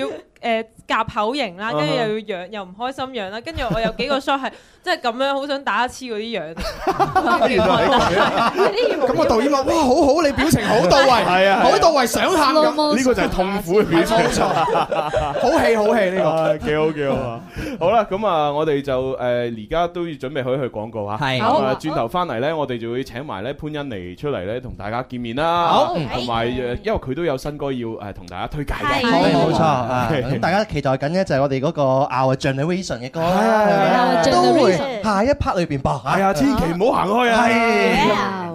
夾口型啦，跟住又要養又唔開心樣啦，跟住我有幾個 shot 係即係咁樣好想打乞嗤嗰啲樣。 咁個導演話：哇，好好，你表情好到位，係啊，好到位，想喊咁。 呢個就係痛苦嘅表情。 冇錯，好戲好戲呢個， 幾好幾好啊！好啦，咁啊，我哋就而家都要準備去廣告嚇。係。咁啊，轉頭翻嚟咧，我哋就會請埋咧潘欣妮出嚟咧，同大家見面啦。好。同埋因為佢都有新歌要同大家推介嘅。 冇錯。咁大家期待緊咧就係我哋嗰個 Our Generation 嘅歌啦，都會下一 part 裏邊播。 係啊，千祈唔好行開啊！係。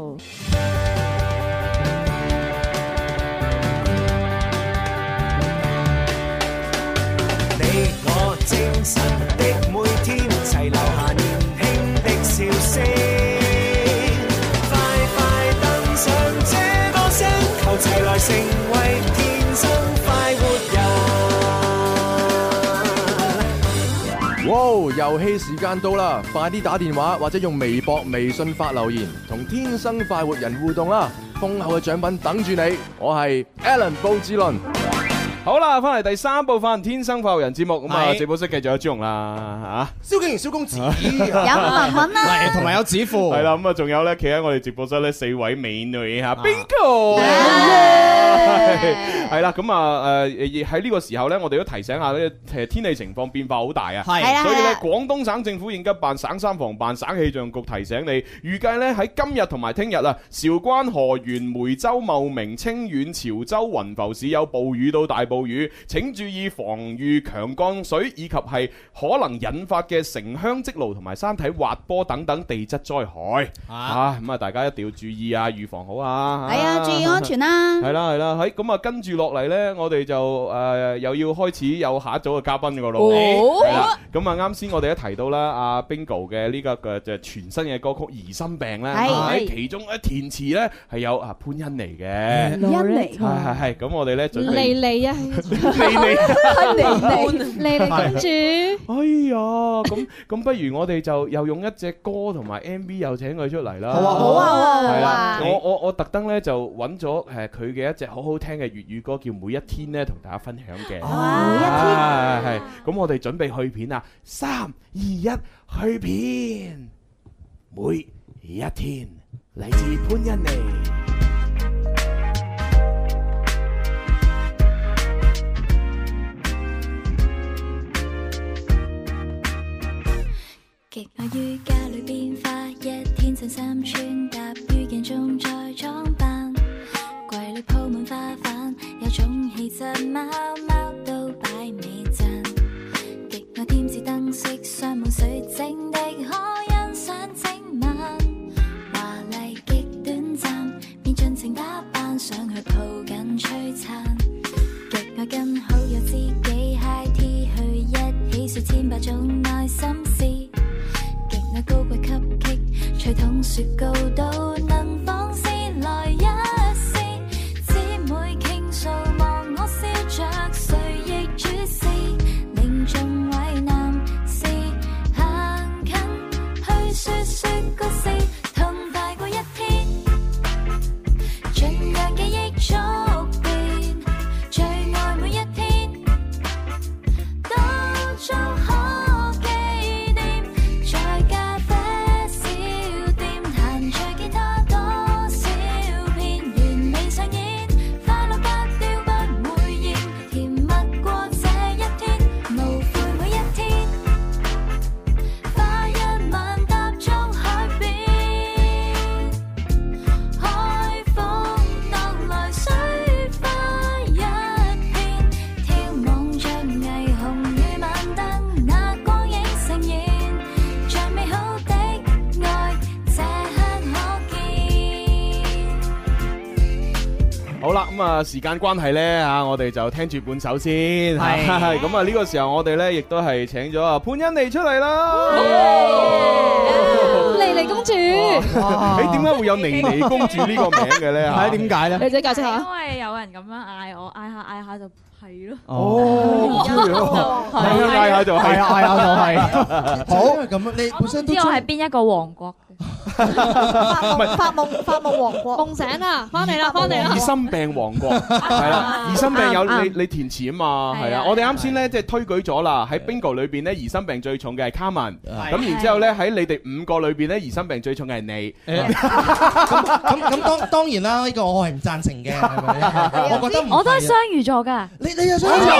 你我精神的每天，齊留下年輕的笑聲。快快登上這歌聲，求齊來成為天生快活人。 哇！遊戲時間到啦，快啲打電話或者用微博、微信發留言，同天生快活人互動啦！豐厚嘅獎品等住你，我係 Alan 布志倫。 好啦，翻嚟第3部分《天生快活人》節目，咁啊，直播室繼續有朱紅啦， 嚇，蕭敬元、蕭公子，有文文啦， 同埋有子富， 係啦，咁啊，仲有咧，企喺我哋直播室咧4位美女嚇 ，Bingo，係啦，咁啊喺呢個時候咧，我哋都提醒下咧，天氣情況變化好大啊，係，所以咧，廣東省政府應急辦、省三防辦、省氣象局提醒你，預計咧喺今日同埋聽日啊，韶關、河源、梅州、茂名、清遠、潮州、雲浮市有暴雨到大暴雨，請注意防禦強降水以及係可能引發嘅城鄉積澇同埋山體滑坡等等地質災害。咁啊，大家一定要注意啊，預防好啊。 係啊，注意安全啦。 係啦係啦，喺咁啊，跟住落嚟呢，我哋就又要開始有下一組嘅嘉賓噶咯。係啦，咁啊，啱先我哋都提到啦，阿 Bingo 嘅呢個嘅就全新嘅歌曲《疑心病》咧，喺其中填詞咧係有啊潘欣妮嘅。 欣妮係，咁我哋咧準備莉莉啊。莉莉公主， 哎呀，咁不如我哋就又用一隻歌同埋 MV 又請佢出嚟啦。 好啊， 係啦，我特登咧就揾咗佢嘅一隻好好聽嘅粵語歌，叫《每一天》咧，同大家分享嘅。 每一天係，咁我哋準備去片啊！3、2、1，去片。每一天，嚟自潘欣妮。 極愛於家裏變化，一天襯衫穿搭於鏡中再裝扮，櫃裏鋪滿花瓣，有種氣質，貓貓都擺美讚。極愛添置燈飾，鑲滿水晶的可欣賞整晚，華麗極短暫，便盡情打扮上去抱緊璀璨。極愛跟好友知己 high tea 去一起說千百種內心事。高貴吸激，吹筒雪糕都能放肆來一試，姊妹傾訴望我笑着，誰亦注視，凝重為男士行近去說說故事，痛快過一天，盡讓記憶觸變，最愛每一天，都做好。 好啦，咁啊時間關係咧嚇，我哋就聽住半首先。係咁啊，呢個時候我哋咧亦都係請咗阿潘欣妮出嚟啦。 妮妮公主， 誒點解會有妮妮公主呢個名嘅咧？係點解咧？ 你自己解釋下。 因為有人咁樣嗌我，嗌下就係咯。 哦，嗌下就係，嗌下就係。好，咁你本身都知我係邊一個王國嘅？ 發夢王國， 夢醒啦，翻嚟啦，翻嚟啦！ 疑心病王國係啦，疑心病有你填詞啊嘛，係啊，我哋啱先咧即係推舉咗啦，喺 Bingo 裏邊咧疑心病最重嘅係 Carmen，咁然之後咧喺你哋5個裏邊咧疑心病最重嘅係你。 咁當然啦，呢個我係唔贊成嘅，係咪？我覺得我都係雙魚座㗎。 你又雙魚座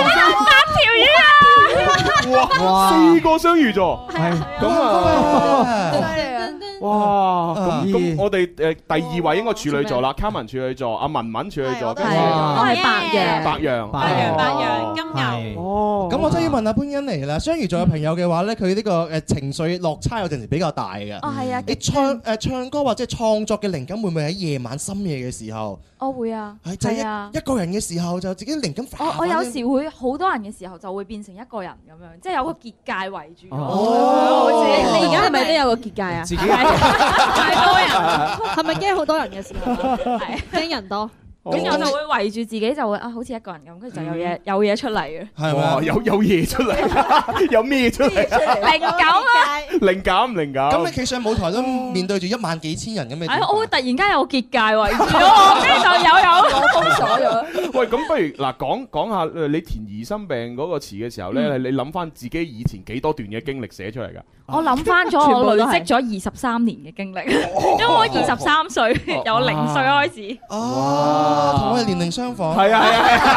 8條魚啊！ 哇，4個雙魚座，係咁啊！哇，咁我哋第2位應該處女座啦，Carmen處女座，阿文文處女座，跟住我係白羊， 金牛。 哦，咁我真係要問下潘欣妮啦，雙魚座嘅朋友嘅話咧，佢呢個情緒落差有陣時比較大嘅。 哦，係啊。 你唱歌或者創作嘅靈感會唔會喺夜晚深夜嘅時候？ 我會啊， 係啊，一個人嘅時候就自己靈感。 我有時會好多人嘅時候就會變成一個人咁樣，即係有個結界圍住。 你而家係咪都有個結界啊？ 自己太多人，係咪驚好多人嘅時候？係驚人多。 咁我就會圍住自己，就會好似一個人咁，跟住就有嘢出嚟嘅。 係嘛？有嘢出嚟，有咩出嚟？ 靈感啊！ 靈感。 咁你企上舞台都面對住1萬幾千人咁嘅。 我會突然間有個結界圍住我，跟住就有封鎖咗。 喂，咁不如嗱講下你填疑心病嗰個詞嘅時候咧，你諗翻自己以前幾多段嘅經歷寫出嚟㗎？ 我諗翻咗，我累積咗23年嘅經歷，因為我23歲，由0歲開始。 同我哋年齡相仿。 係啊！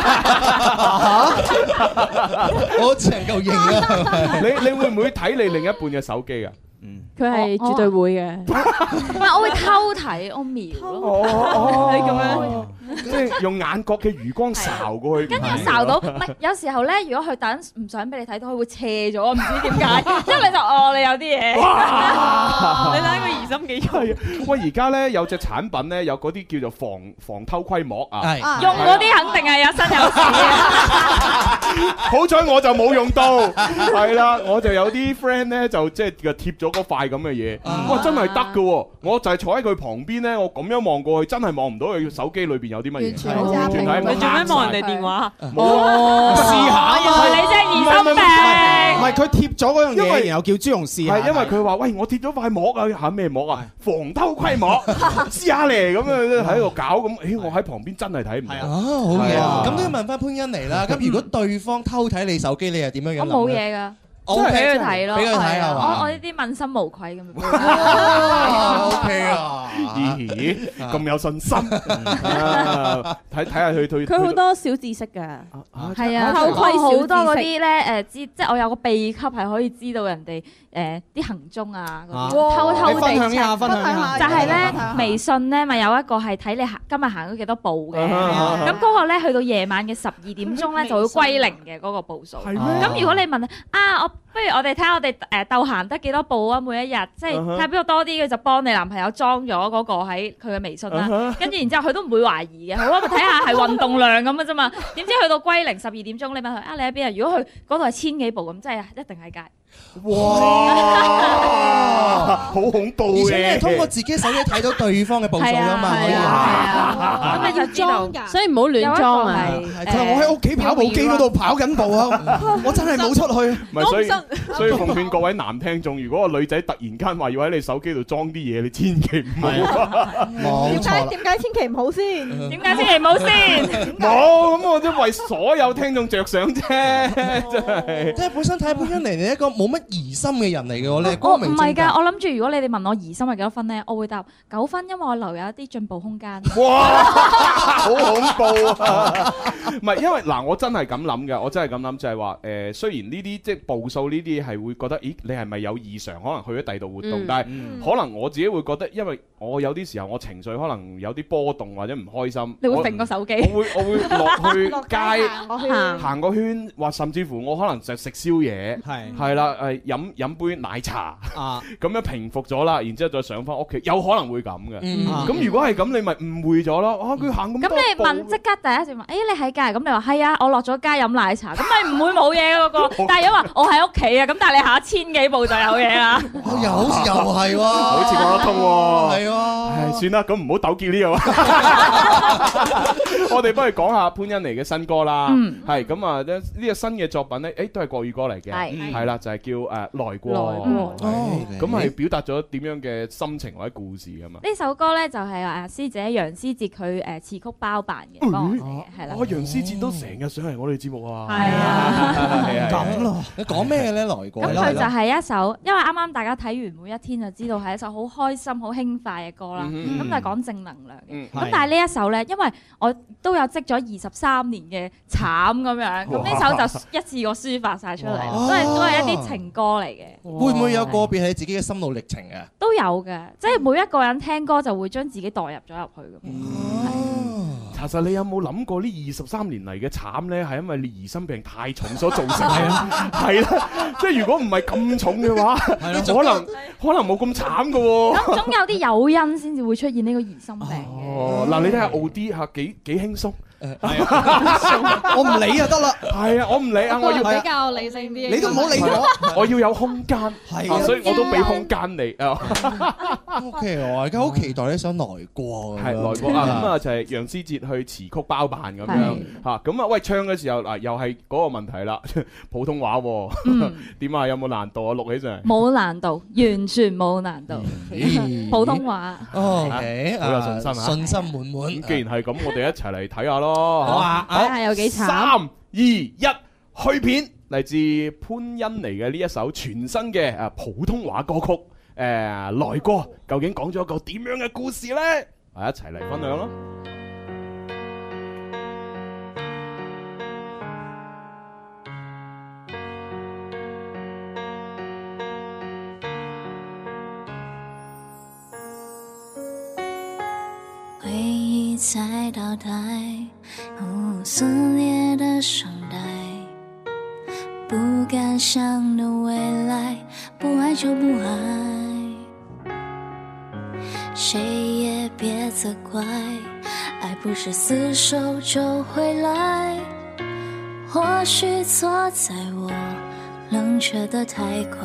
我只能夠認啊！ 你會唔會睇你另一半嘅手機啊？ 佢係絕對會嘅。 唔係，我會偷睇，我瞄咯。你咁樣。 即係用眼角嘅餘光睄過去， 跟住我睄到，唔係有時候咧，如果佢等唔想俾你睇到，佢會斜咗，唔知點解，之後你就你有啲嘢， 你睇個疑心幾重。 喂，而家咧有隻產品咧，有嗰啲叫做防偷窺膜啊， 用嗰啲肯定係有身有事。 好彩我就冇用到，係啦，我就有啲 friend 咧就即係貼咗嗰塊咁嘅嘢，哇，真係得㗎喎！我就係坐喺佢旁邊咧，我咁樣望過去，真係望唔到佢手機裏邊有啲乜嘢。 你做咩望人哋電話？ 試下啊嘛！ 你真係疑心病。 唔係佢貼咗嗰樣嘢，然後叫朱紅試下。 係因為佢話：喂，我貼咗塊膜啊，嚇咩膜啊？防偷窺膜，試下嚟咁樣喺度搞咁。誒，我喺旁邊真係睇唔到。 好嘢啊！咁都要問翻潘欣妮啦。咁如果對方偷睇你手機，你係點樣樣？ 我冇嘢㗎。我俾佢睇咯， 俾佢睇係嘛？ 我呢啲問心無愧咁樣。 OK 啊！ 咦，咁有信心？睇下佢好多小知識㗎。 係啊，偷窺好多嗰啲咧即係我有個秘笈係可以知道人哋啲行蹤啊，偷地分享下， 就係咧微信咧咪有一個係睇你今日行咗幾多步嘅，咁嗰個咧去到夜晚嘅12點鐘咧就會歸零嘅嗰個步數。咁如果你問不如我哋睇下我哋鬥行得幾多步啊？每一日即係睇下邊個多啲，佢就幫你男朋友裝咗嗰個喺佢嘅微信啦。跟住然之後佢都唔會懷疑嘅，好啊，咪睇下係運動量咁嘅啫嘛。點知去到歸零12點鐘，你問佢你喺邊啊？如果佢嗰度係1000幾步咁，即係一定喺街。 哇！好恐怖嘅， 而且你通過自己手機睇到對方嘅步數㗎嘛， 係啊，咁咪要裝㗎， 所以唔好亂裝啊。 佢話我喺屋企跑步機嗰度跑緊步啊，我真係冇出去。 唔係，所以奉勸各位男聽眾，如果個女仔突然間話要喺你手機度裝啲嘢，你千祈唔好。 冇錯。 點解千祈唔好先？ 點解千祈唔好先？ 冇，咁我都為所有聽眾着想啫，真係。 即係本身睇潘欣妮你一個冇乜疑心嘅人嚟嘅喎，你係光明正大。 唔係㗎，我諗住如果你哋問我疑心係幾多分咧，我會答9分，因為我留有一啲進步空間。 哇！好恐怖啊！唔係因為嗱，我真係咁諗嘅，我真係咁諗就係話雖然呢啲即係步數呢啲係會覺得，咦，你係咪有異常？可能去咗第二度活動，但係可能我自己會覺得，因為我有啲時候我情緒可能有啲波動或者唔開心， 你會揈個手機， 我會落去街行個圈，或甚至乎我可能就食宵夜，係啦，飲杯奶茶咁樣平復咗啦，然之後再上翻屋企，有可能會咁嘅。咁如果係咁，你咪誤會咗咯。佢行咁多步。咁你問即刻第一時問，你喺街？咁你話係啊，我落咗街飲奶茶，咁咪唔會冇嘢嗰個。但係如果話我喺屋企啊，咁但係你行1000幾步就有嘢啦。 又好似又係喎， 好似講得通喎。 係喎。 算啦，咁唔好糾結呢個。我哋不如講下潘欣妮嘅新歌啦。係咁啊，呢個新嘅作品咧，都係國語歌嚟嘅。係啦，就係叫來過。咁係表達咗點樣嘅心情或者故事啊嘛？ 呢首歌咧就係師姐楊思捷佢詞曲包辦嘅，幫我寫嘅，係啦。 楊思捷都成日上嚟我哋節目啊。 係啊， 咁咯。你講咩咧？來過。 咁佢就係一首，因為啱啱大家睇完每一天就知道係一首好開心、好輕快嘅歌啦。咁就係講正能量嘅。咁但係呢一首咧，因為我都有積咗23年嘅慘咁樣，咁呢首就一次過抒發晒出嚟，都係一啲情歌嚟嘅。 會唔會有個別係自己嘅心路歷程啊？ 都有嘅，即係每一個人聽歌就會將自己代入咗入去咁。 查實你有冇諗過呢23年嚟嘅慘咧，係因為你疑心病太重所造成嘅？係啦，即係如果唔係咁重嘅話，可能冇咁慘嘅喎。 咁總有啲誘因先至會出現呢個疑心病嘅。 哦，嗱，你睇下奧迪嚇幾輕鬆。 我唔理就得啦。 係啊，我唔理啊，我要比較理性啲。 你都唔好理我， 我要有空間。係啊，所以我都俾空間你啊。 OK，我而家好期待呢首來過。 係來過啊，咁啊就係楊思捷去詞曲包辦咁樣嚇。咁啊，喂，唱嘅時候嗱，又係嗰個問題啦，普通話點啊？有冇難度啊？錄起上嚟冇難度，完全冇難度。普通話。 OK， 好有信心啊！ 信心滿滿。 咁既然係咁，我哋一齊嚟睇下咯。 好啊， 睇下有幾慘。 3、2、1，去片，嚟自潘欣妮嘅呢一首全新嘅普通話歌曲來過，究竟講咗一個點樣嘅故事呢？一齊嚟分享咯。 回忆在倒帶，撕裂的雙帶，不敢想的未來，不愛就不愛，誰也別責怪，愛不是廝守就回來，或許錯在我冷卻得太快，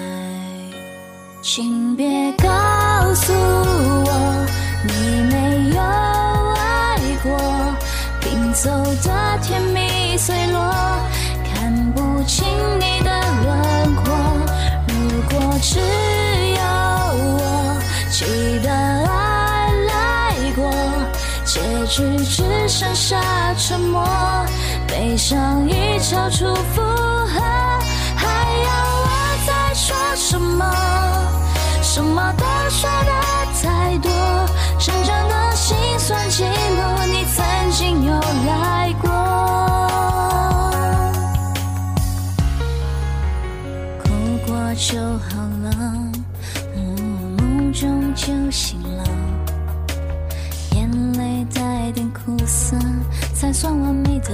請別告訴我你沒有愛過，拼湊的甜蜜碎落，看不清你的輪廓，如果只有我記得愛來過，結局只剩下沉默，悲傷已超出負荷，還要我再說什麼？什麼都說得太多，成長的辛酸記錄，你曾經有來過，哭過就好了，夢中就醒了，眼淚帶點苦澀才算完美的，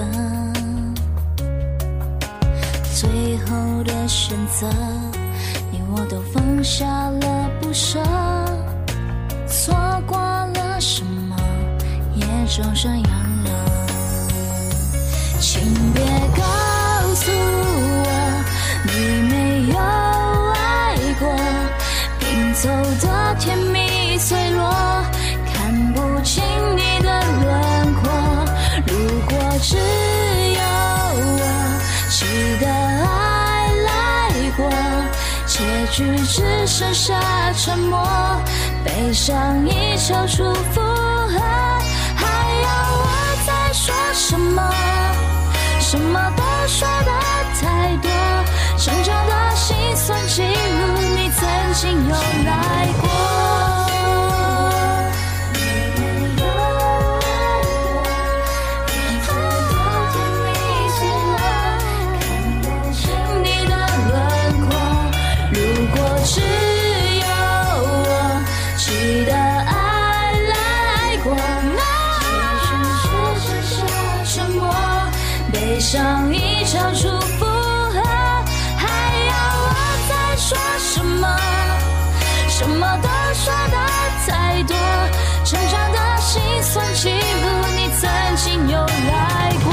最後的選擇你我都放下了不捨，錯過了什麼也就這樣了，請別告訴我你沒有愛過，拼湊的甜蜜碎落，看不清你的輪廓，如果只有我記得愛來過，結局只剩下沉默，悲傷已超出負荷，還要我再說什麼？什麼都說得太多，成長的辛酸記錄，你曾經有來過。只有我記得愛來過，結局只剩下沉默，悲傷已超出負荷，還要我再說什麼？什麼都說得太多，成長的辛酸記錄，你曾經有來過，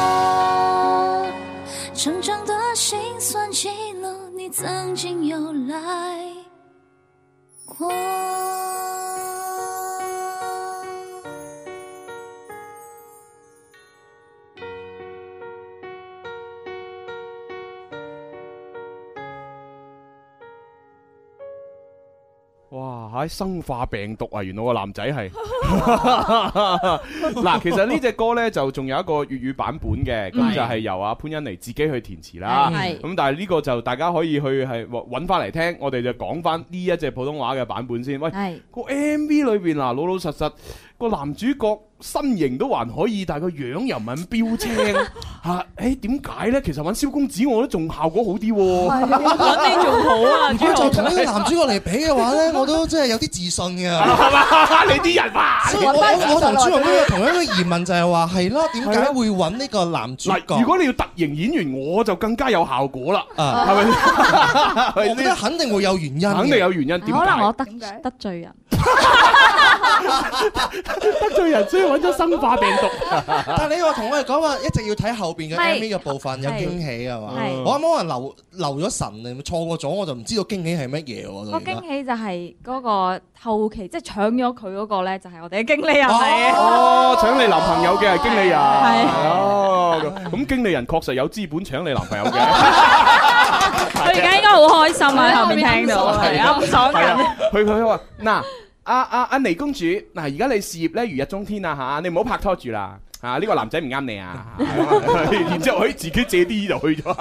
成長的辛酸記錄，你曾經有來過。 嚇生化病毒啊！原來個男仔係嗱，其實呢隻歌咧就仲有一個粵語版本嘅，咁就係由阿潘欣妮自己去填詞啦。咁但係呢個就大家可以去係揾翻嚟聽，我哋就講翻呢一隻普通話嘅版本先。喂，個 MV 裏邊嗱，老老實實個男主角身形都還可以，但係個樣又唔係咁標青嚇。誒點解咧？其實揾蕭公子我覺得仲效果好啲喎。 揾你仲好啊！ 如果就同呢個男主角嚟比嘅話咧，我都真係有啲自信嘅。 係嘛？你啲人話， 我同朱紅都有同樣嘅疑問，就係話係咯，點解會揾呢個男主角？ 如果你要特型演員，我就更加有效果啦。係咪？ 我覺得肯定會有原因。 肯定有原因。點解？ 可能我得罪人。 得罪人，所以揾咗生化病毒。 但係你話同我哋講話，一直要睇後邊嘅 MV 嘅部分有驚喜係嘛？我啱啱可能留咗神啊，錯過咗我就唔知道驚喜係乜嘢喎。 個驚喜就係嗰個後期，即係搶咗佢嗰個咧，就係我哋嘅經理人嚟。 哦，搶你男朋友嘅係經理人。 係。 哦，咁經理人確實有資本搶你男朋友嘅。 佢而家應該好開心啊！喺後面聽到，係啊，好爽緊。 佢話嗱。阿妮公主，嗱而家你事業咧如日中天啊嚇，你唔好拍拖住啦嚇，呢個男仔唔啱你啊，然之後可以自己借啲就去咗。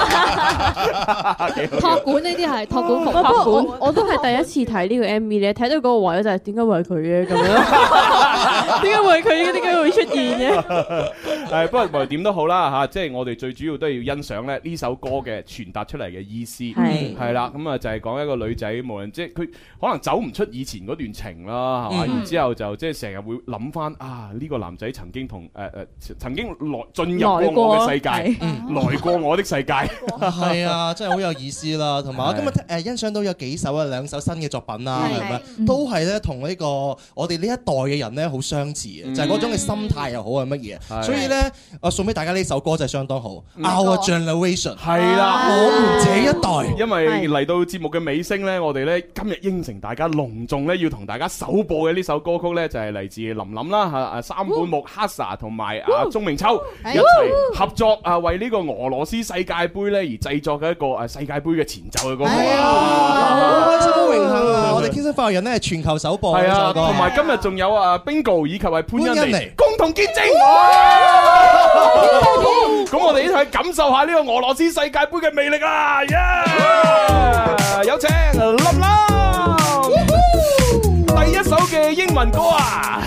託管呢啲係託管服， 託管我都係第一次睇呢個 MV 咧，睇到嗰個位就係點解會係佢嘅咁樣？點解會係佢嘅？點解會出現嘅？ 係不過無論點都好啦嚇，即係我哋最主要都係要欣賞咧呢首歌嘅傳達出嚟嘅意思係啦，咁啊就係講一個女仔，無論即係佢可能走唔出以前嗰段情啦，係嘛，然之後就即係成日會諗翻啊呢個男仔曾經同曾經進入過我嘅世界，來過我的世界， 係啊，真係好有意思啦。同埋我今日欣賞到有幾首啊，兩首新嘅作品啦，係咪都係咧同呢個我哋呢一代嘅人咧好相似嘅，就係嗰種嘅心態又好係乜嘢。所以咧，我送俾大家呢首歌就係相當好。Our Generation 係啦， 我們這一代。 因為嚟到節目嘅尾聲咧，我哋咧今日應承大家隆重咧要同大家首播嘅呢首歌曲咧就係嚟自林琳啦三本木 Hasa 同埋鐘明秋一齊合作為呢個俄羅斯世界盃咧而製作嘅一個世界盃嘅前奏嘅歌曲。 好開心好榮幸啊！我哋天生快活人咧係全球首播嘅首歌， 同埋今日仲有Bingo 以及係潘欣妮共同見證。咁我哋一齊感受下呢個俄羅斯世界盃嘅魅力啊！有請林琳第一首嘅英文歌啊！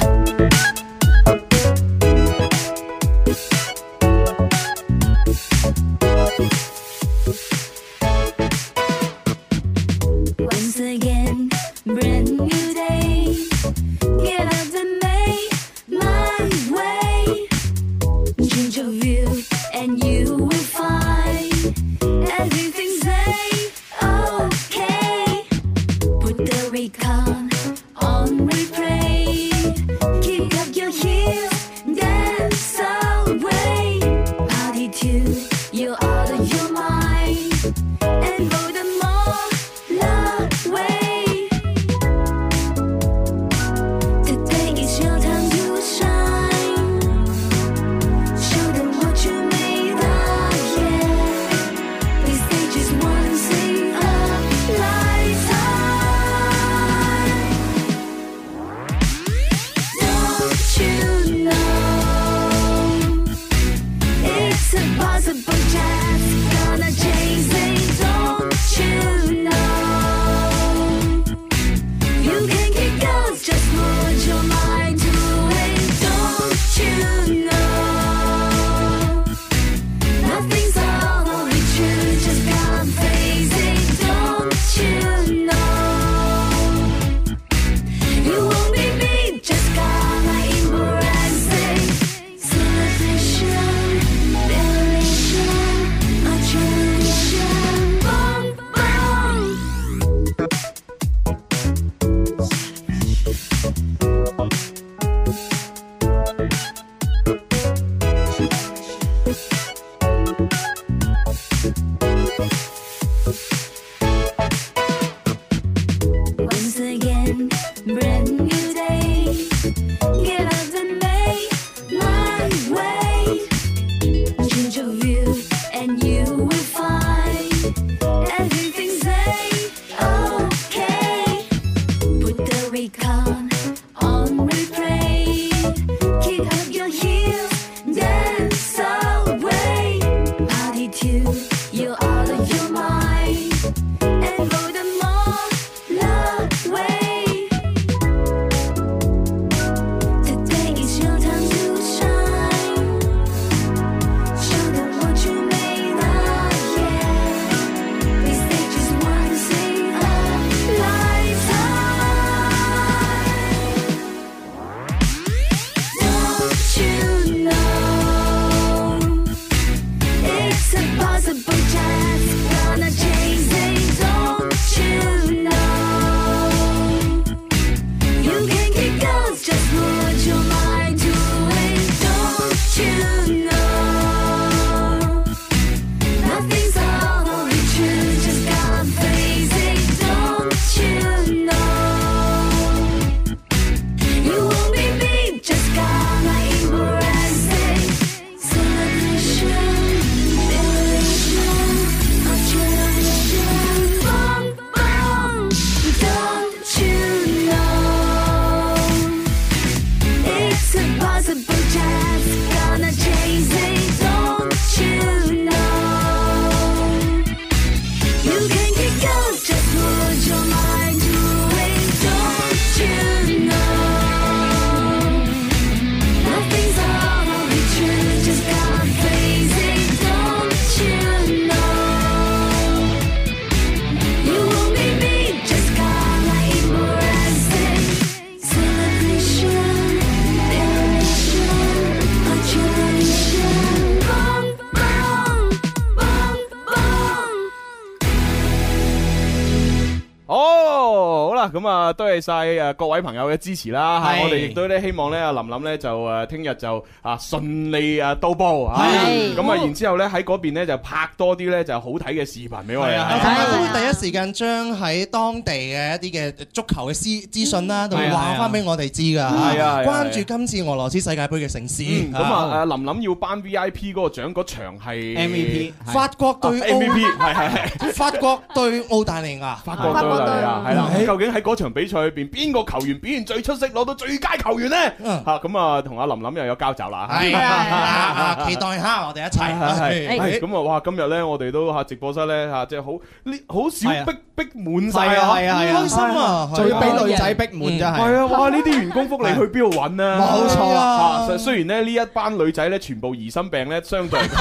Celebration 啦，咁啊多謝晒誒各位朋友嘅支持啦，我哋亦都咧希望咧阿林林咧就誒聽日就啊順利啊到埗啊，咁啊然之後咧喺嗰邊咧就拍多啲咧就好睇嘅視頻俾我哋， 都會第一時間將喺當地嘅一啲嘅足球嘅資訊啦，同埋話翻俾我哋知㗎。係啊，關注今次俄羅斯世界盃嘅盛事。 咁啊林林要頒 VIP 嗰個獎，嗰場係 MVP， 法國對 MVP， 係法國對澳大利亞， 法國對澳大利亞係啦。究竟喺嗰場比賽裏邊，邊個球員表現最出色，攞到最佳球員咧？嚇咁啊，同阿林林又有交集啦。係啊， 期待下我哋一齊。 係咁啊！哇，今日咧我哋都嚇直播室咧嚇，即係好少逼滿晒啊！係啊， 開心啊！ 仲要俾女仔逼滿真係。 係啊！哇！呢啲員工福利去邊度揾啊？ 冇錯啊！ 雖然咧呢一班女仔咧全部疑心病咧，相對嚟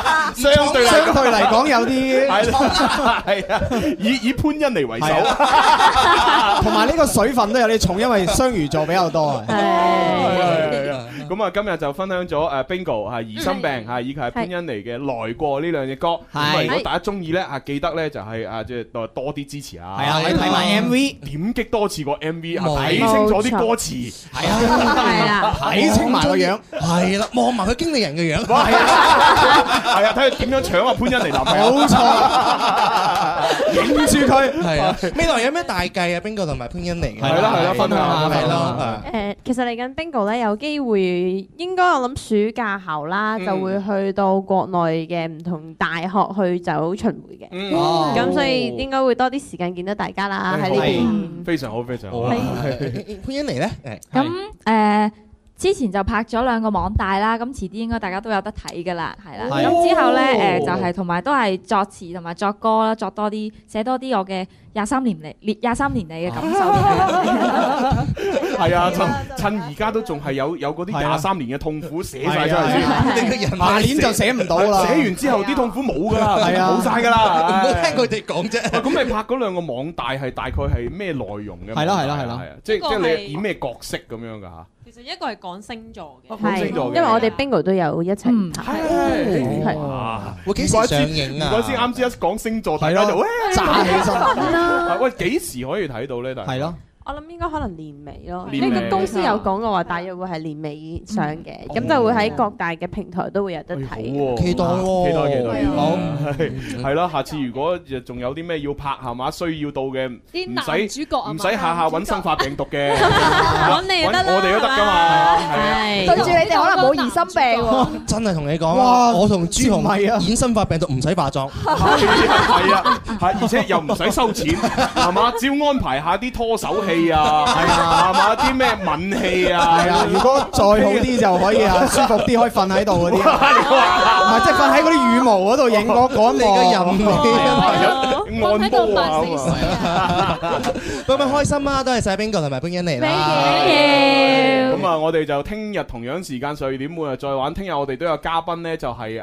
講有啲係啊，以潘欣妮為首， 同埋呢個水分都有啲重，因為雙魚座比較多啊。 咁啊，今日就分享咗Bingo 係疑心病嚇，以及係潘欣妮嘅來過呢兩隻歌。咁啊，如果大家中意咧記得咧就係即係多啲支持啊！ 係啊，你睇埋 MV， 點擊多次個 MV，睇清楚啲歌詞。 係啊，睇清埋個樣。 係啦，望埋佢經理人嘅樣。 係啊，睇佢點樣搶啊潘欣妮男朋友。 冇錯，影住佢。 係啊，未來有咩大計啊？Bingo同埋潘欣妮嘅。 係啦，分享下係咯。 其實嚟緊 Bingo 咧有機會。應該我諗暑假後啦，就會去到國內嘅唔同大學去走巡迴嘅，咁所以應該會多啲時間見到大家啦喺呢邊。 非常好，非常好。 潘欣妮咧， 咁之前就拍咗2個網帶啦，咁遲啲應該大家都有得睇㗎啦，係啦。咁之後咧就係同埋都係作詞同埋作歌啦，作多啲寫多啲我嘅23年嚟嘅感受。 係啊，趁而家都仲係有嗰啲23年嘅痛苦寫晒出嚟先， 你個人下年就寫唔到啦。 寫完之後啲痛苦冇㗎啦，冇晒㗎啦。 唔好聽佢哋講啫。 咁你拍嗰2個網帶係大概係咩內容嘅？ 係啦， 即係你演咩角色咁樣㗎嚇？ 其實一個係講星座嘅， 因為我哋 Bingo 都有一齊拍， 係會幾時上映啊？ 唔怪之啱先一講星座，大家就炸起身。 喂，幾時可以睇到咧？ 係咯。 我諗應該可能年尾咯，呢個公司有講過話，大約會係年尾上嘅，咁就會喺各大嘅平台都會有得睇。 期待喎， 期待。好，係啦，下次如果仲有啲咩要拍係嘛，需要到嘅，唔使下下揾生化病毒嘅， 揾你得啦， 我哋都得㗎嘛。係對住你哋可能冇疑心病喎。 真係同你講啊，我同朱紅演生化病毒唔使化妝， 係啊，而且又唔使收錢，係嘛？只要安排下啲拖手戲。係啊，係嘛？啲咩吻戲啊？ 係啊，如果再好啲就可以啊，舒服啲可以瞓喺度嗰啲，唔係即係瞓喺嗰啲羽毛嗰度影嗰一幕嘅人， 按摩啊！ 咁開心啊！多謝晒 Bingo 同埋潘欣妮啦。 咁啊，我哋就聽日同樣時間12點半再玩。聽日我哋都有嘉賓咧，就係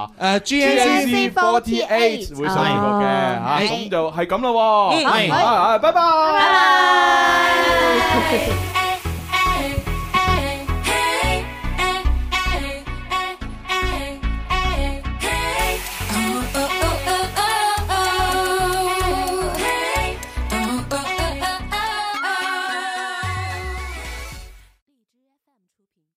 GNZ48會上嚟過嘅嚇，咁就係咁啦喎。係，拜拜。